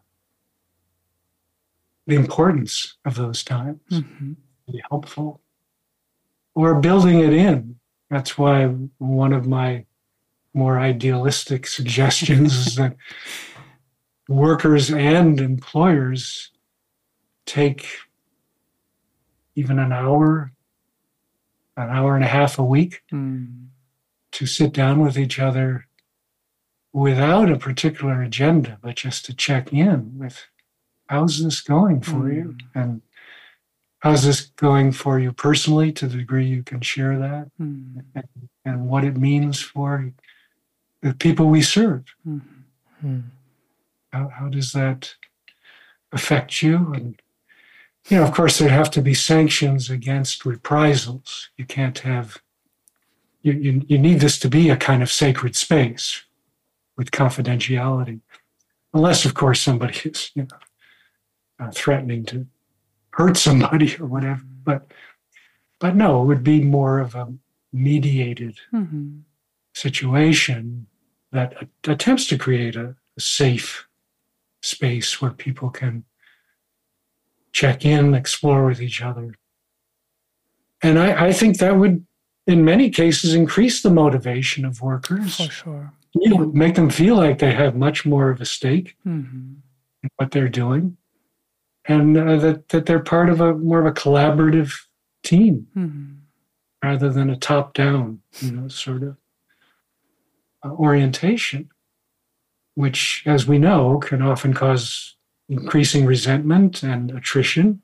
the importance of those times, mm-hmm. be helpful, or building it in. That's why one of my more idealistic suggestions is that workers and employers take even an hour, an hour and a half a week mm. to sit down with each other without a particular agenda, but just to check in with, how's this going for mm. you? And how's this going for you personally, to the degree you can share that, mm. and, and what it means for the people we serve. Mm-hmm. How, how does that affect you? And, you know, of course, there have to be sanctions against reprisals. You can't have, you, you, you need this to be a kind of sacred space with confidentiality. Unless, of course, somebody is, you know, uh, threatening to hurt somebody or whatever. But, but no, it would be more of a mediated mm-hmm. situation that attempts to create a, a safe space where people can check in, explore with each other. And I, I think that would, in many cases, increase the motivation of workers. For sure. You know, make them feel like they have much more of a stake mm-hmm. in what they're doing, and uh, that, that they're part of a more of a collaborative team mm-hmm. rather than a top-down, you know, sort of Uh, orientation, which, as we know, can often cause increasing resentment and attrition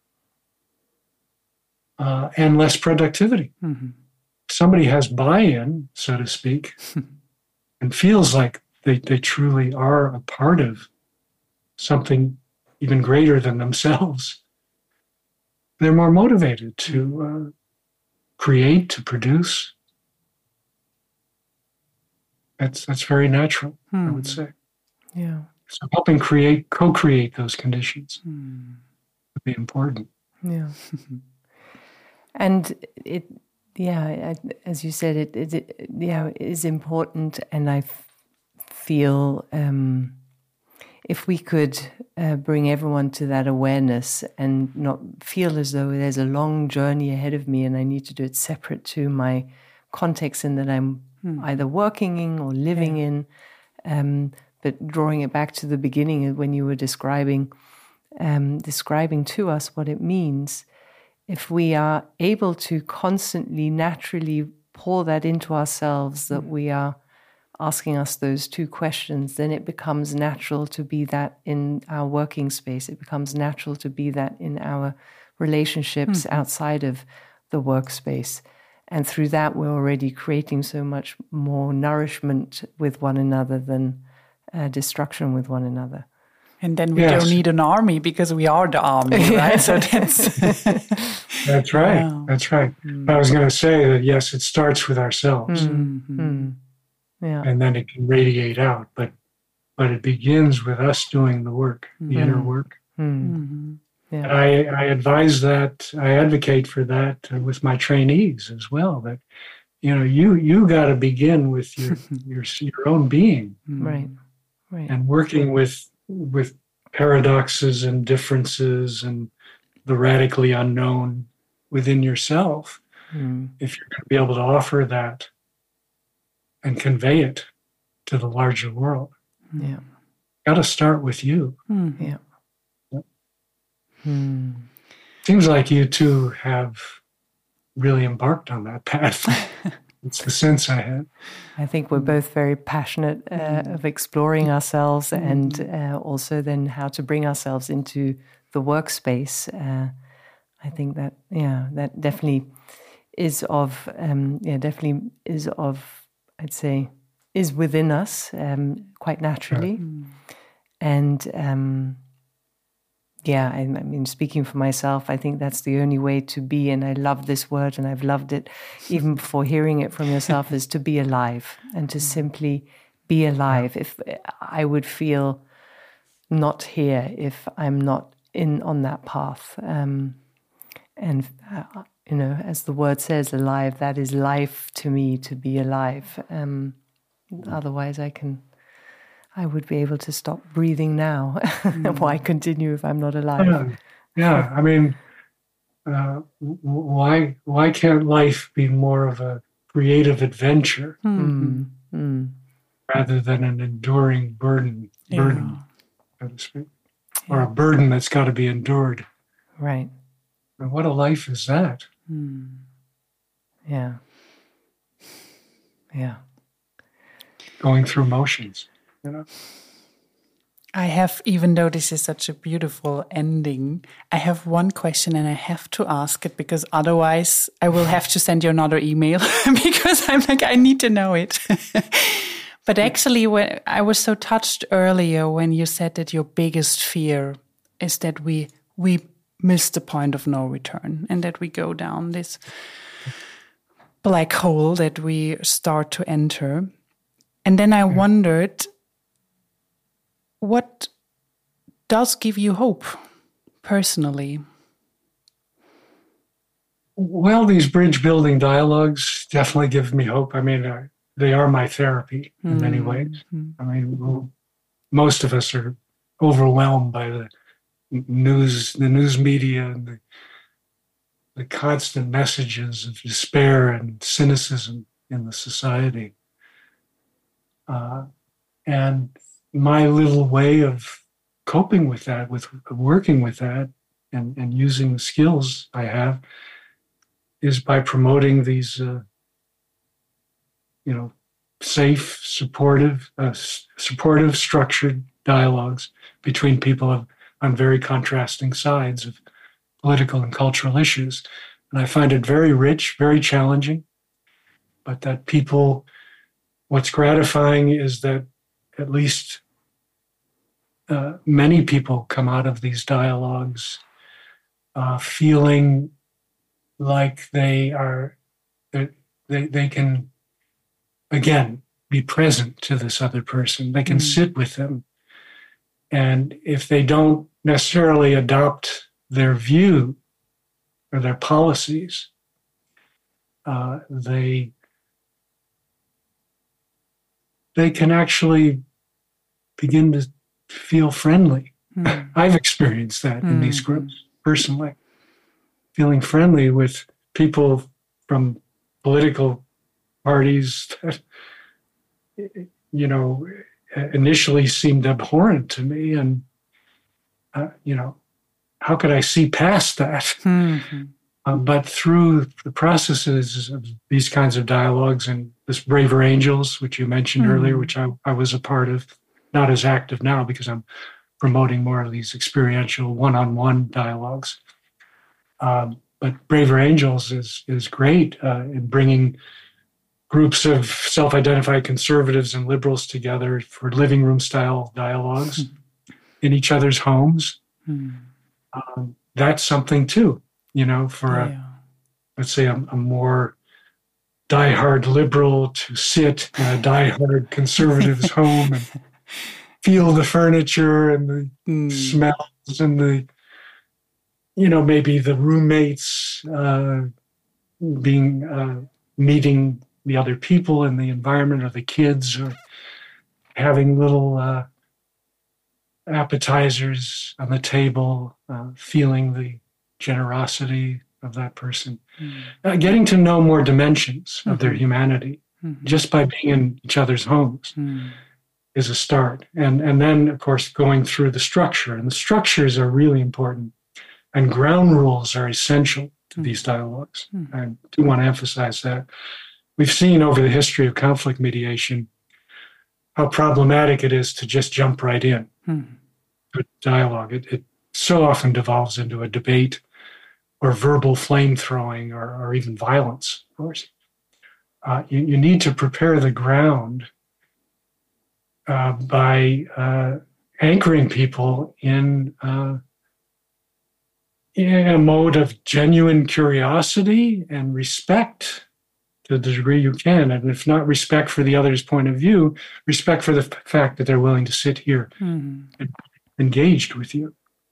uh, and less productivity. Mm-hmm. Somebody has buy-in, so to speak, and feels like they, they truly are a part of something even greater than themselves. They're more motivated to uh, create, to produce. That's that's very natural, hmm. I would say. Yeah. So helping create, co-create those conditions hmm. would be important. Yeah. And it, yeah, as you said, it, it, it yeah, it is important. And I f- feel um, if we could uh, bring everyone to that awareness and not feel as though there's a long journey ahead of me and I need to do it separate to my context in that I'm Hmm. either working in or living yeah. in, um, but drawing it back to the beginning when you were describing, um, describing to us what it means. If we are able to constantly, naturally pour that into ourselves, that hmm. we are asking us those two questions, then it becomes natural to be that in our working space. It becomes natural to be that in our relationships hmm. outside of the workspace. And through that, we're already creating so much more nourishment with one another than uh, destruction with one another. And then we yes. don't need an army because we are the army, right? So that's that's right. Wow. That's right. Mm. I was going to say that yes, it starts with ourselves, mm-hmm. mm. Yeah, and then it can radiate out. But but it begins with us doing the work, mm. the inner work. Mm. Mm-hmm. Yeah. And I, I advise that, I advocate for that uh, with my trainees as well, that you know, you you got to begin with your your your own being, right, right, and working with with paradoxes and differences and the radically unknown within yourself. mm. If you're going to be able to offer that and convey it to the larger world, yeah, got to start with you. Mm-hmm. yeah. Yep. Mm. Seems like you two have really embarked on that path. It's the sense I had. I think we're both very passionate uh, of exploring ourselves and uh, also then how to bring ourselves into the workspace. Uh, I think that, yeah, that definitely is of, um, yeah, definitely is of, I'd say, is within us um, quite naturally. Mm. And um, yeah, I, I mean, speaking for myself, I think that's the only way to be, and I love this word, and I've loved it even before hearing it from yourself, is to be alive and to simply be alive. If I would feel not here if I'm not in on that path. Um, and, uh, you know, as the word says, alive, that is life to me, to be alive. Um, otherwise I can... I would be able to stop breathing now. Mm. Why continue if I'm not alive? Yeah, yeah. I mean, uh, why why can't life be more of a creative adventure mm. Mm. rather than an enduring burden, burden, Yeah. so to speak, or a burden that's got to be endured? Right. And what a life is that? Mm. Yeah. Yeah. Going through motions. You know? I have, even though this is such a beautiful ending, I have one question and I have to ask it because otherwise I will have to send you another email because I'm like, I need to know it. But actually, when I was so touched earlier when you said that your biggest fear is that we we miss the point of no return and that we go down this black hole that we start to enter. And then I wondered, what does give you hope personally? Well, these bridge building dialogues definitely give me hope. I mean, uh, they are my therapy in mm-hmm. many ways. I mean, well, most of us are overwhelmed by the news, the news media, and the, the constant messages of despair and cynicism in the society. Uh, and my little way of coping with that, with working with that, and, and using the skills I have, is by promoting these, uh, you know, safe, supportive, uh, supportive, structured dialogues between people of, on very contrasting sides of political and cultural issues. And I find it very rich, very challenging, but that people, what's gratifying is that at least uh, many people come out of these dialogues uh, feeling like they are, they, they can, again, be present to this other person. They can mm. sit with them. And if they don't necessarily adopt their view or their policies, uh, they they can actually begin to feel friendly. Mm. I've experienced that mm. in these groups personally, feeling friendly with people from political parties that, you know, initially seemed abhorrent to me. And, uh, you know, how could I see past that? Mm-hmm. Um, but through the processes of these kinds of dialogues and this Braver Angels, which you mentioned mm-hmm. earlier, which I, I was a part of, not as active now because I'm promoting more of these experiential one-on-one dialogues. Um, but Braver Angels is is great uh, in bringing groups of self-identified conservatives and liberals together for living room style dialogues mm-hmm. in each other's homes. Mm-hmm. Um, that's something too, you know, for yeah. a, let's say a, a more diehard liberal to sit in a diehard conservative's home and feel the furniture and the mm. smells and the, you know, maybe the roommates uh, being uh, meeting the other people in the environment or the kids, or having little uh, appetizers on the table, uh, feeling the generosity of that person, mm. uh, getting to know more dimensions mm-hmm. of their humanity mm-hmm. just by being in each other's homes mm. is a start. And, and then, of course, going through the structure. And the structures are really important. And ground rules are essential to mm. these dialogues. Mm. I do want to emphasize that. We've seen over the history of conflict mediation how problematic it is to just jump right in mm. to dialogue. It, it so often devolves into a debate or verbal flame throwing or, or even violence, of course. Uh, you, you need to prepare the ground uh, by uh, anchoring people in, uh, in a mode of genuine curiosity and respect to the degree you can. And if not respect for the other's point of view, respect for the f- fact that they're willing to sit here mm-hmm. and engaged with you.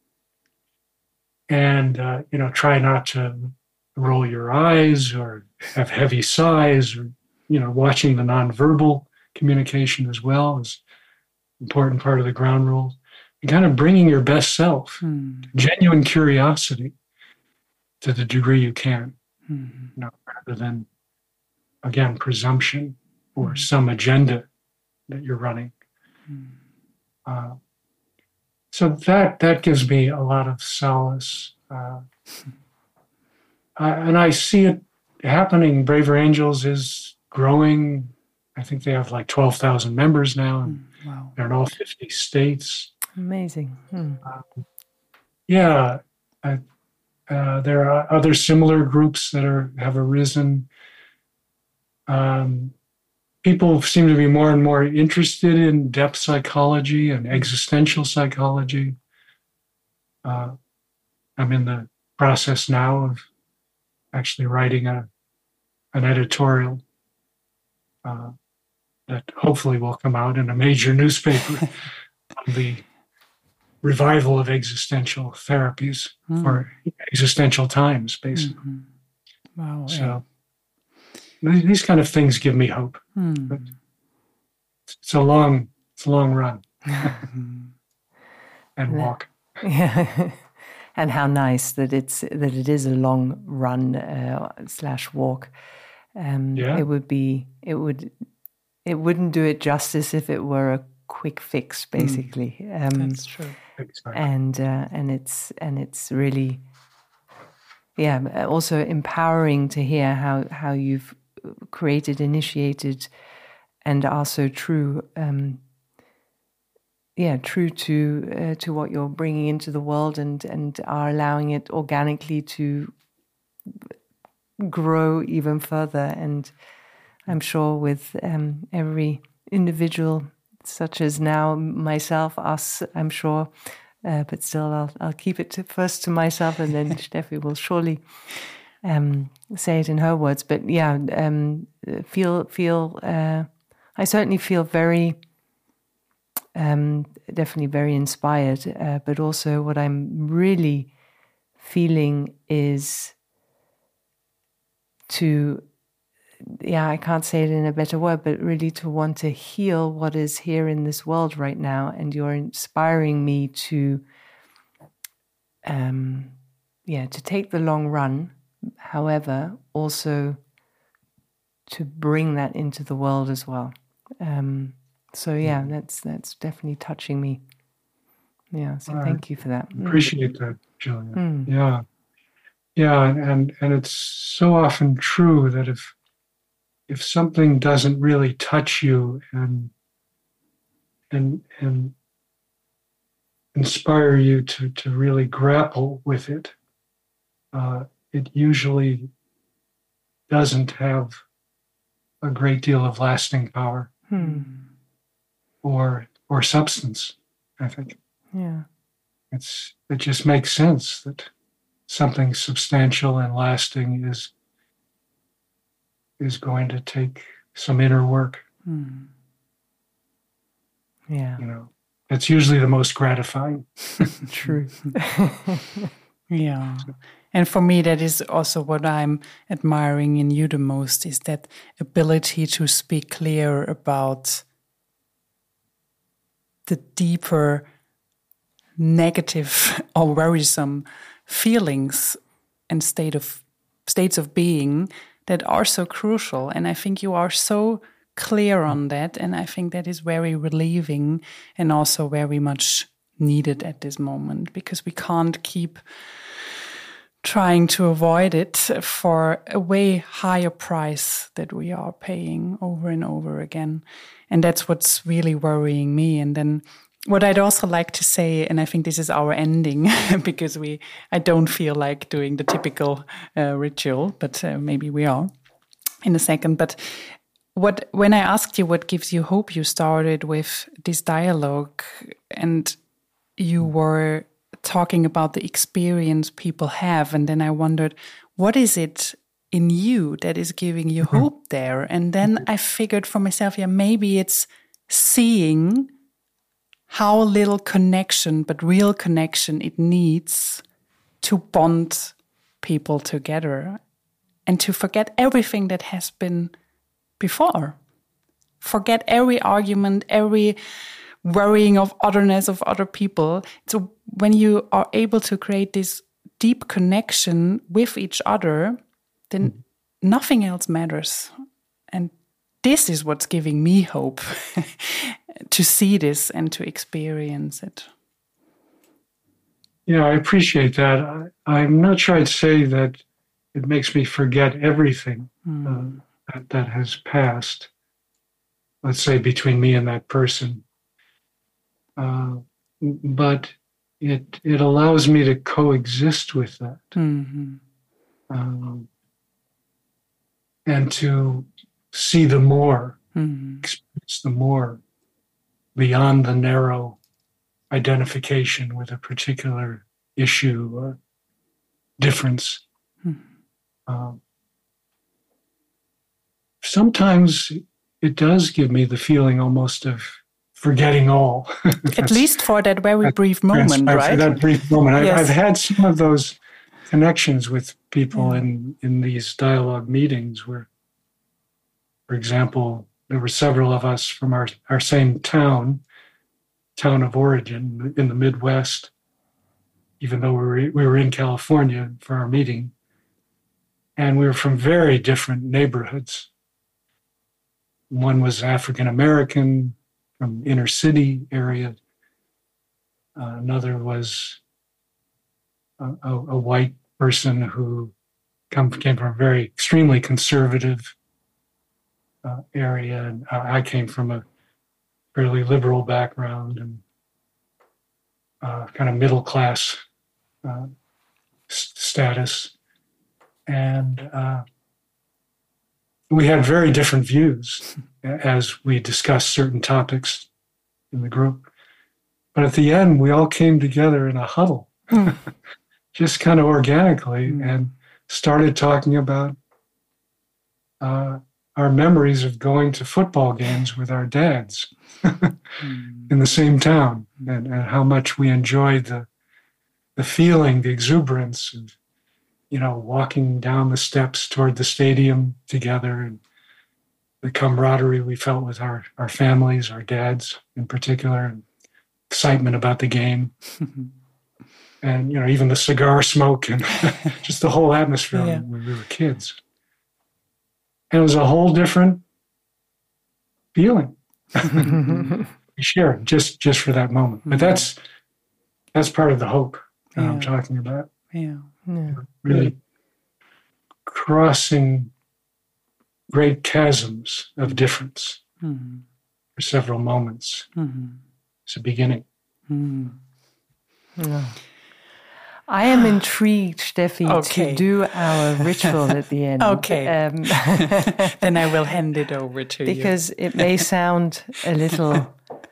And, uh, you know, try not to roll your eyes or have heavy sighs, or, you know, watching the nonverbal communication as well is an important part of the ground rules. And kind of bringing your best self, mm. genuine curiosity to the degree you can, mm. you know, rather than, again, presumption or mm. some agenda that you're running. Mm. Uh, So that that gives me a lot of solace. Uh, I, and I see it happening. Braver Angels is growing. I think they have like twelve thousand members now. And mm, wow. They're in all fifty states. Amazing. Hmm. Uh, yeah. I, uh, there are other similar groups that are have arisen. Um, People seem to be more and more interested in depth psychology and existential psychology. Uh, I'm in the process now of actually writing a an editorial uh, that hopefully will come out in a major newspaper on the revival of existential therapies mm. for existential times, basically. Mm-hmm. Wow. So. Yeah. These kind of things give me hope. Hmm. But it's a long, it's a long run and walk. Yeah, and how nice that it's that it is a long run uh, slash walk. Um, yeah. It would be, it would, it wouldn't do it justice if it were a quick fix, basically. Mm. Um, That's true. Exactly. And uh, and it's and it's really, yeah, also empowering to hear how how you've created, initiated, and are so true, um, yeah, true to uh, to what you're bringing into the world, and and are allowing it organically to grow even further. And I'm sure with um, every individual, such as now myself, us, I'm sure, uh, but still, I'll I'll keep it to, first to myself, and then Steffi will surely. Um, say it in her words, but yeah, um, feel feel. Uh, I certainly feel very, um, definitely very inspired. Uh, but also, what I'm really feeling is to, yeah, I can't say it in a better word, but really to want to heal what is here in this world right now, and you're inspiring me to, um, yeah, to take the long run. However, also to bring that into the world as well. Um, so yeah, mm. that's that's definitely touching me. Yeah, so I thank you for that. Appreciate mm. that, Julia. Mm. Yeah, yeah, and and it's so often true that if if something doesn't really touch you and and and inspire you to to really grapple with it. Uh, it usually doesn't have a great deal of lasting power hmm. or or substance, I think. Yeah. It's it just makes sense that something substantial and lasting is is going to take some inner work. Hmm. Yeah. You know, it's usually the most gratifying. True. Yeah. And for me, that is also what I'm admiring in you the most, is that ability to speak clear about the deeper negative or worrisome feelings and state of states of being that are so crucial. And I think you are so clear on that, and I think that is very relieving and also very much needed at this moment, because we can't keep trying to avoid it for a way higher price that we are paying over and over again. And that's what's really worrying me. And then what I'd also like to say, and I think this is our ending, because we I don't feel like doing the typical uh, ritual, but uh, maybe we are in a second. But what when I asked you what gives you hope, you started with this dialogue, and you were talking about the experience people have. And then I wondered, what is it in you that is giving you mm-hmm. hope there? And then I figured for myself, yeah, maybe it's seeing how little connection, but real connection, it needs to bond people together and to forget everything that has been before. Forget every argument, every worrying of otherness of other people. So when you are able to create this deep connection with each other, then mm. nothing else matters. And this is what's giving me hope to see this and to experience it. Yeah, I appreciate that. I, I'm not sure I'd say that it makes me forget everything mm. uh, that, that has passed, let's say, between me and that person. Uh, but it it allows me to coexist with that. Mm-hmm. Um, and to see the more, mm-hmm. experience the more beyond the narrow identification with a particular issue or difference. Mm-hmm. Um, sometimes it does give me the feeling almost of forgetting all. At least for that very brief moment, right? For that brief moment. Yes. I've, I've had some of those connections with people yeah. in, in these dialogue meetings where, for example, there were several of us from our, our same town, town of origin in the Midwest, even though we were, we were in California for our meeting. And we were from very different neighborhoods. One was African American, from inner city area. Uh, another was a, a, a white person who come, came from a very extremely conservative uh, area. And I came from a fairly liberal background and uh, kind of middle class uh, s- status. And uh, we had very different views as we discussed certain topics in the group. But at the end, we all came together in a huddle, mm. just kind of organically, mm. and started talking about uh, our memories of going to football games with our dads mm. in the same town, and, and how much we enjoyed the the feeling, the exuberance of, you know, walking down the steps toward the stadium together, and the camaraderie we felt with our, our families, our dads in particular, and excitement about the game. And, you know, even the cigar smoke and just the whole atmosphere yeah. when we were kids. And it was a whole different feeling we shared just, just for that moment. But that's that's part of the hope that yeah. I'm talking about. Yeah. yeah. Really crossing great chasms of difference mm-hmm. for several moments. Mm-hmm. It's a beginning. Mm-hmm. Yeah. I am intrigued, Steffi, okay. to do our ritual at the end. Okay. Um, then I will hand it over to because you. Because it may sound a little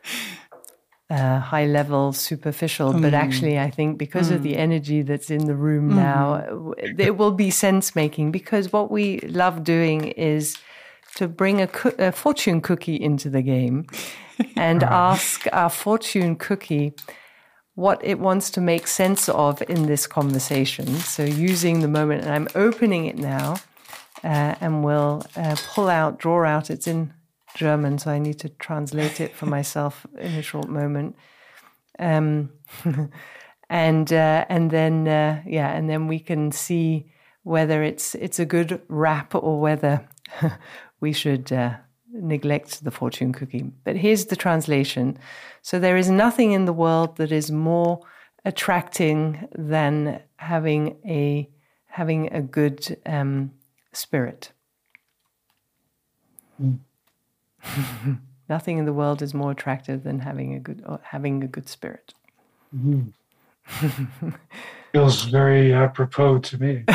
uh, high level, superficial, mm. but actually I think because mm. of the energy that's in the room mm. now, it will be sense making, because what we love doing is to bring a, co- a fortune cookie into the game and ask our fortune cookie, what it wants to make sense of in this conversation. So using the moment, and I'm opening it now, uh, and we'll uh, pull out, draw out. It's in German, so I need to translate it for myself in a short moment. Um, and uh, and then uh, yeah, and then we can see whether it's it's a good wrap or whether we should uh, neglect the fortune cookie. But here's the translation. So there is nothing in the world that is more attracting than having a having a good um, spirit. Mm. Nothing in the world is more attractive than having a good or having a good spirit. Mm. Feels very apropos to me.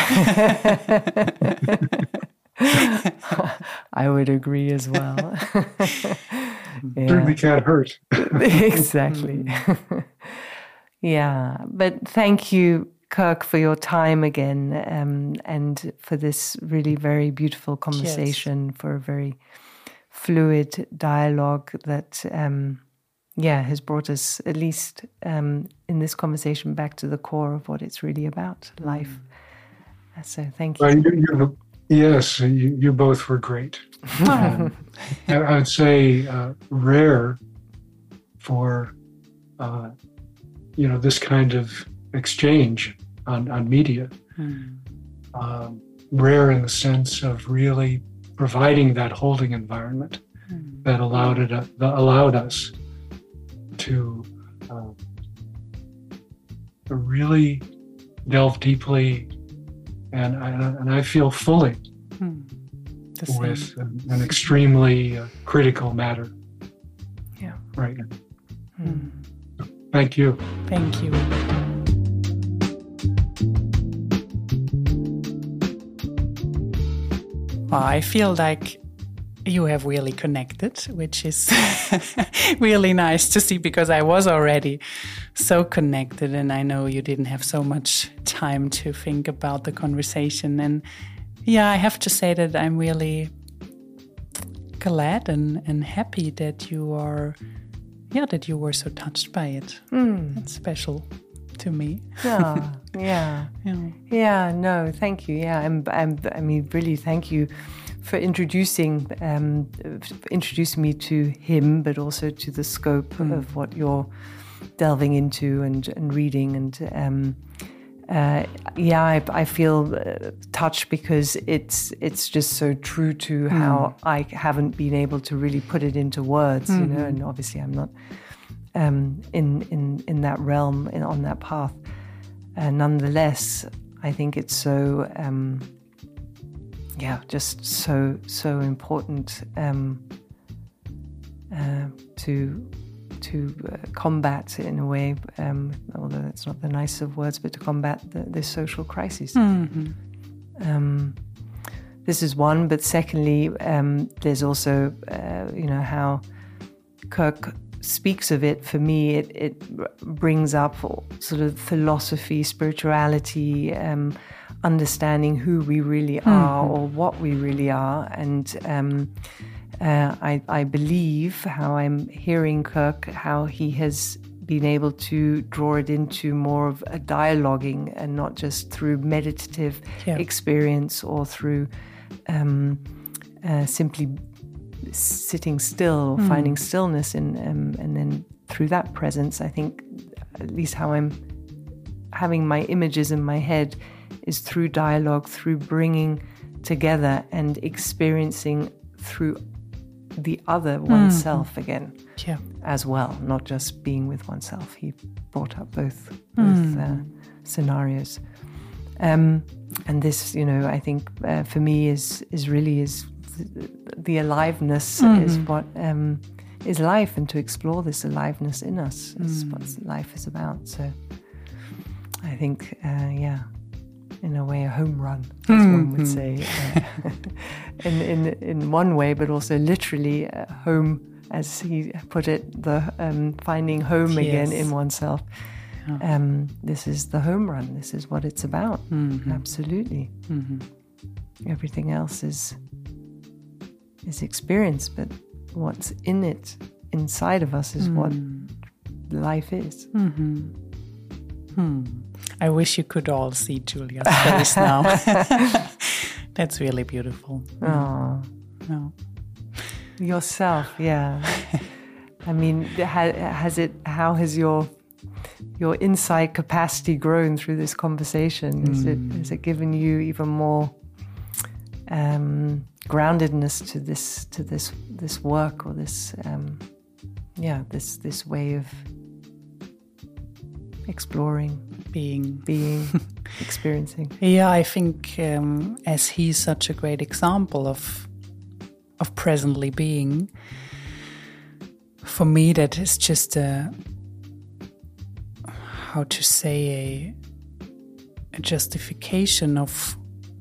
I would agree as well. Yeah. Certainly can't hurt. Exactly. Yeah, but thank you, Kirk, for your time again, um, and for this really very beautiful conversation, yes. For a very fluid dialogue that, um, yeah, has brought us, at least um, in this conversation, back to the core of what it's really about, life. So thank you. Well, you, you yes, you, you both were great. um, I, I would say uh, rare for, uh, you know, this kind of exchange on, on media. Mm. Um, rare in the sense of really providing that holding environment mm. that allowed it, uh, that allowed us to uh, really delve deeply and and I feel fully mm. with an, an extremely uh, critical matter. Yeah. Right now. Mm. Thank you. Thank you. Well, I feel like you have really connected, which is really nice to see, because I was already so connected and I know you didn't have so much time to think about the conversation. And yeah, I have to say that I'm really glad and, and happy that you are, yeah, that you were so touched by it. Mm. It's special to me. Yeah, yeah, yeah, yeah. No, thank you. Yeah, I'm, I'm, I mean, really, thank you for introducing um, introducing me to him, but also to the scope mm. of what you're delving into and, and reading. And um, uh, yeah, I, I feel uh, touched because it's it's just so true to mm. how I haven't been able to really put it into words, mm-hmm. you know. And obviously, I'm not um, in in in that realm, in, on that path. Uh, nonetheless, I think it's so. Um, Yeah, just so so important um, uh, to to uh, combat in a way, um, although that's not the nicest of words, but to combat the, this social crisis. Mm-hmm. Um, this is one, but secondly, um, there's also uh, you know how Kirk speaks of it. For me, it it brings up sort of philosophy, spirituality. Um, understanding who we really are mm-hmm. or what we really are. And um, uh, I, I believe how I'm hearing Kirk, how he has been able to draw it into more of a dialoguing and not just through meditative yeah. experience or through um, uh, simply sitting still or mm. finding stillness in, um, and then through that presence, I think at least how I'm having my images in my head is through dialogue, through bringing together and experiencing through the other oneself mm. again yeah. as well, not just being with oneself. He brought up both, both mm. uh, scenarios. Um, and this, you know, I think uh, for me is is really is the, the aliveness mm. is what um, is life, and to explore this aliveness in us is mm. what life is about. So I think, uh, yeah, in a way, a home run, as mm-hmm. one would say, uh, in, in in one way, but also literally uh, home, as he put it, the um, finding home yes. again in oneself. Yeah. Um, this is the home run. This is what it's about. Mm-hmm. Absolutely. Mm-hmm. Everything else is is experience, but what's in it, inside of us, is mm. what life is. Mm-hmm. Hmm. I wish you could all see Julia's face now. That's really beautiful. Oh. No. Yourself, yeah. I mean, has it? How has your your insight capacity grown through this conversation? Is mm. it has it given you even more um, groundedness to this to this this work or this um, yeah this this way of exploring, being, being, experiencing? Yeah, I think um, as he's such a great example of of presently being. For me, that is just a, how to say, a, a justification of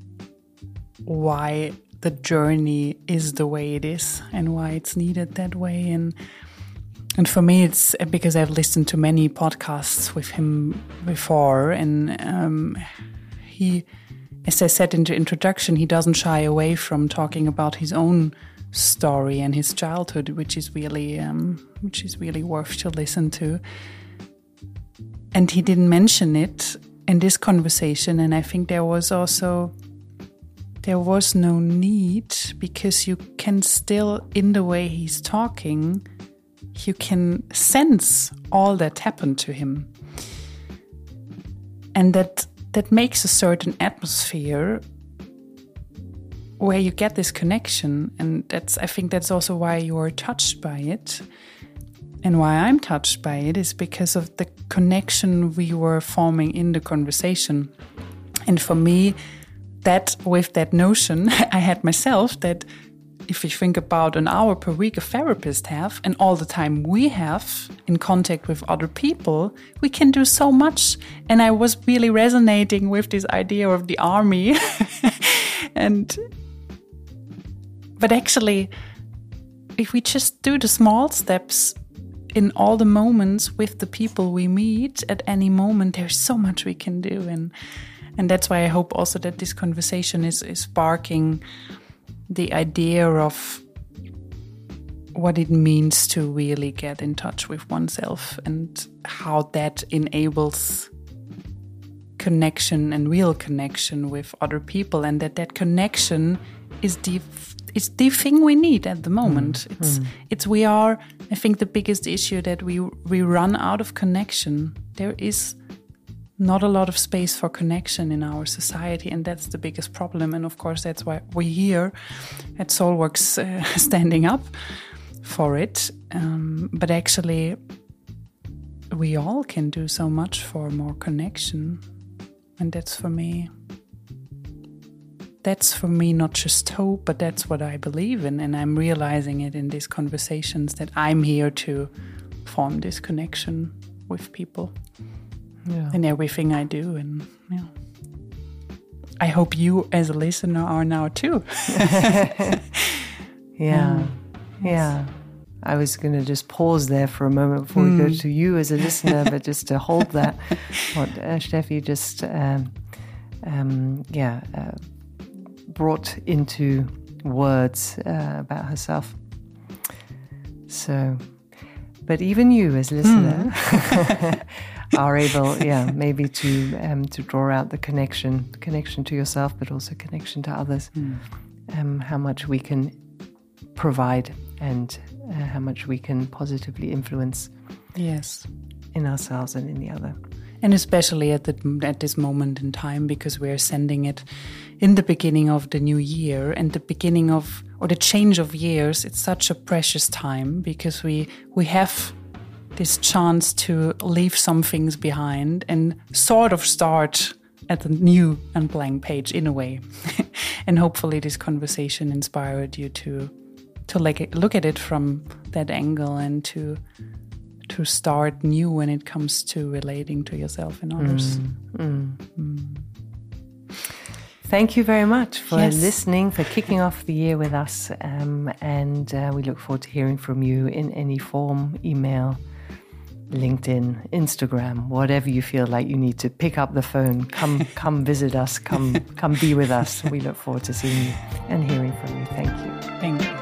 why the journey is the way it is and why it's needed that way. And and for me, it's because I've listened to many podcasts with him before, and um, he, as I said in the introduction, he doesn't shy away from talking about his own story and his childhood, which is really um, which is really worth to listen to. And he didn't mention it in this conversation, and I think there was also there was no need, because you can still, in the way he's talking, you can sense all that happened to him, and that that makes a certain atmosphere where you get this connection. And that's, I think that's also why you're touched by it, and why I'm touched by it is because of the connection we were forming in the conversation. And for me, that with that notion I had myself, that if you think about an hour per week a therapist have, and all the time we have in contact with other people, we can do so much. And I was really resonating with this idea of the army. and But actually, if we just do the small steps in all the moments with the people we meet at any moment, there's so much we can do. And and that's why I hope also that this conversation is, is sparking the idea of what it means to really get in touch with oneself, and how that enables connection and real connection with other people, and that that connection is the It's the thing we need at the moment. Mm. It's, mm. it's we are, I think, the biggest issue, that we we run out of connection. There is not a lot of space for connection in our society, and that's the biggest problem. And of course, that's why we're here at Soulworks uh, standing up for it. Um, but actually, we all can do so much for more connection, and that's for me. That's for me not just hope, but that's what I believe in. And I'm realizing it in these conversations, that I'm here to form this connection with people, yeah, in everything I do. And yeah, I hope you as a listener are now too. yeah, um, yeah. I was going to just pause there for a moment before mm. we go to you as a listener, but just to hold that, what uh, Steffi just, um, um, yeah, uh, brought into words uh, about herself. So, but even you as a listener mm. are able, yeah, maybe to um, to draw out the connection, connection to yourself, but also connection to others. Mm. Um, how much we can provide, and uh, how much we can positively influence. Yes, in ourselves and in the other. And especially at the, at this moment in time, because we're sending it in the beginning of the new year, and the beginning of, or the change of years. It's such a precious time, because we we have this chance to leave some things behind and sort of start at a new and blank page in a way. And hopefully this conversation inspired you to to like look at it from that angle, and to to start new when it comes to relating to yourself and others. Mm. Mm. Mm. Thank you very much for yes. listening, for kicking off the year with us. Um, and uh, we look forward to hearing from you in any form, email, LinkedIn, Instagram, whatever you feel like you need to pick up the phone. Come come visit us, come come be with us. We look forward to seeing you and hearing from you. Thank you. Thank you.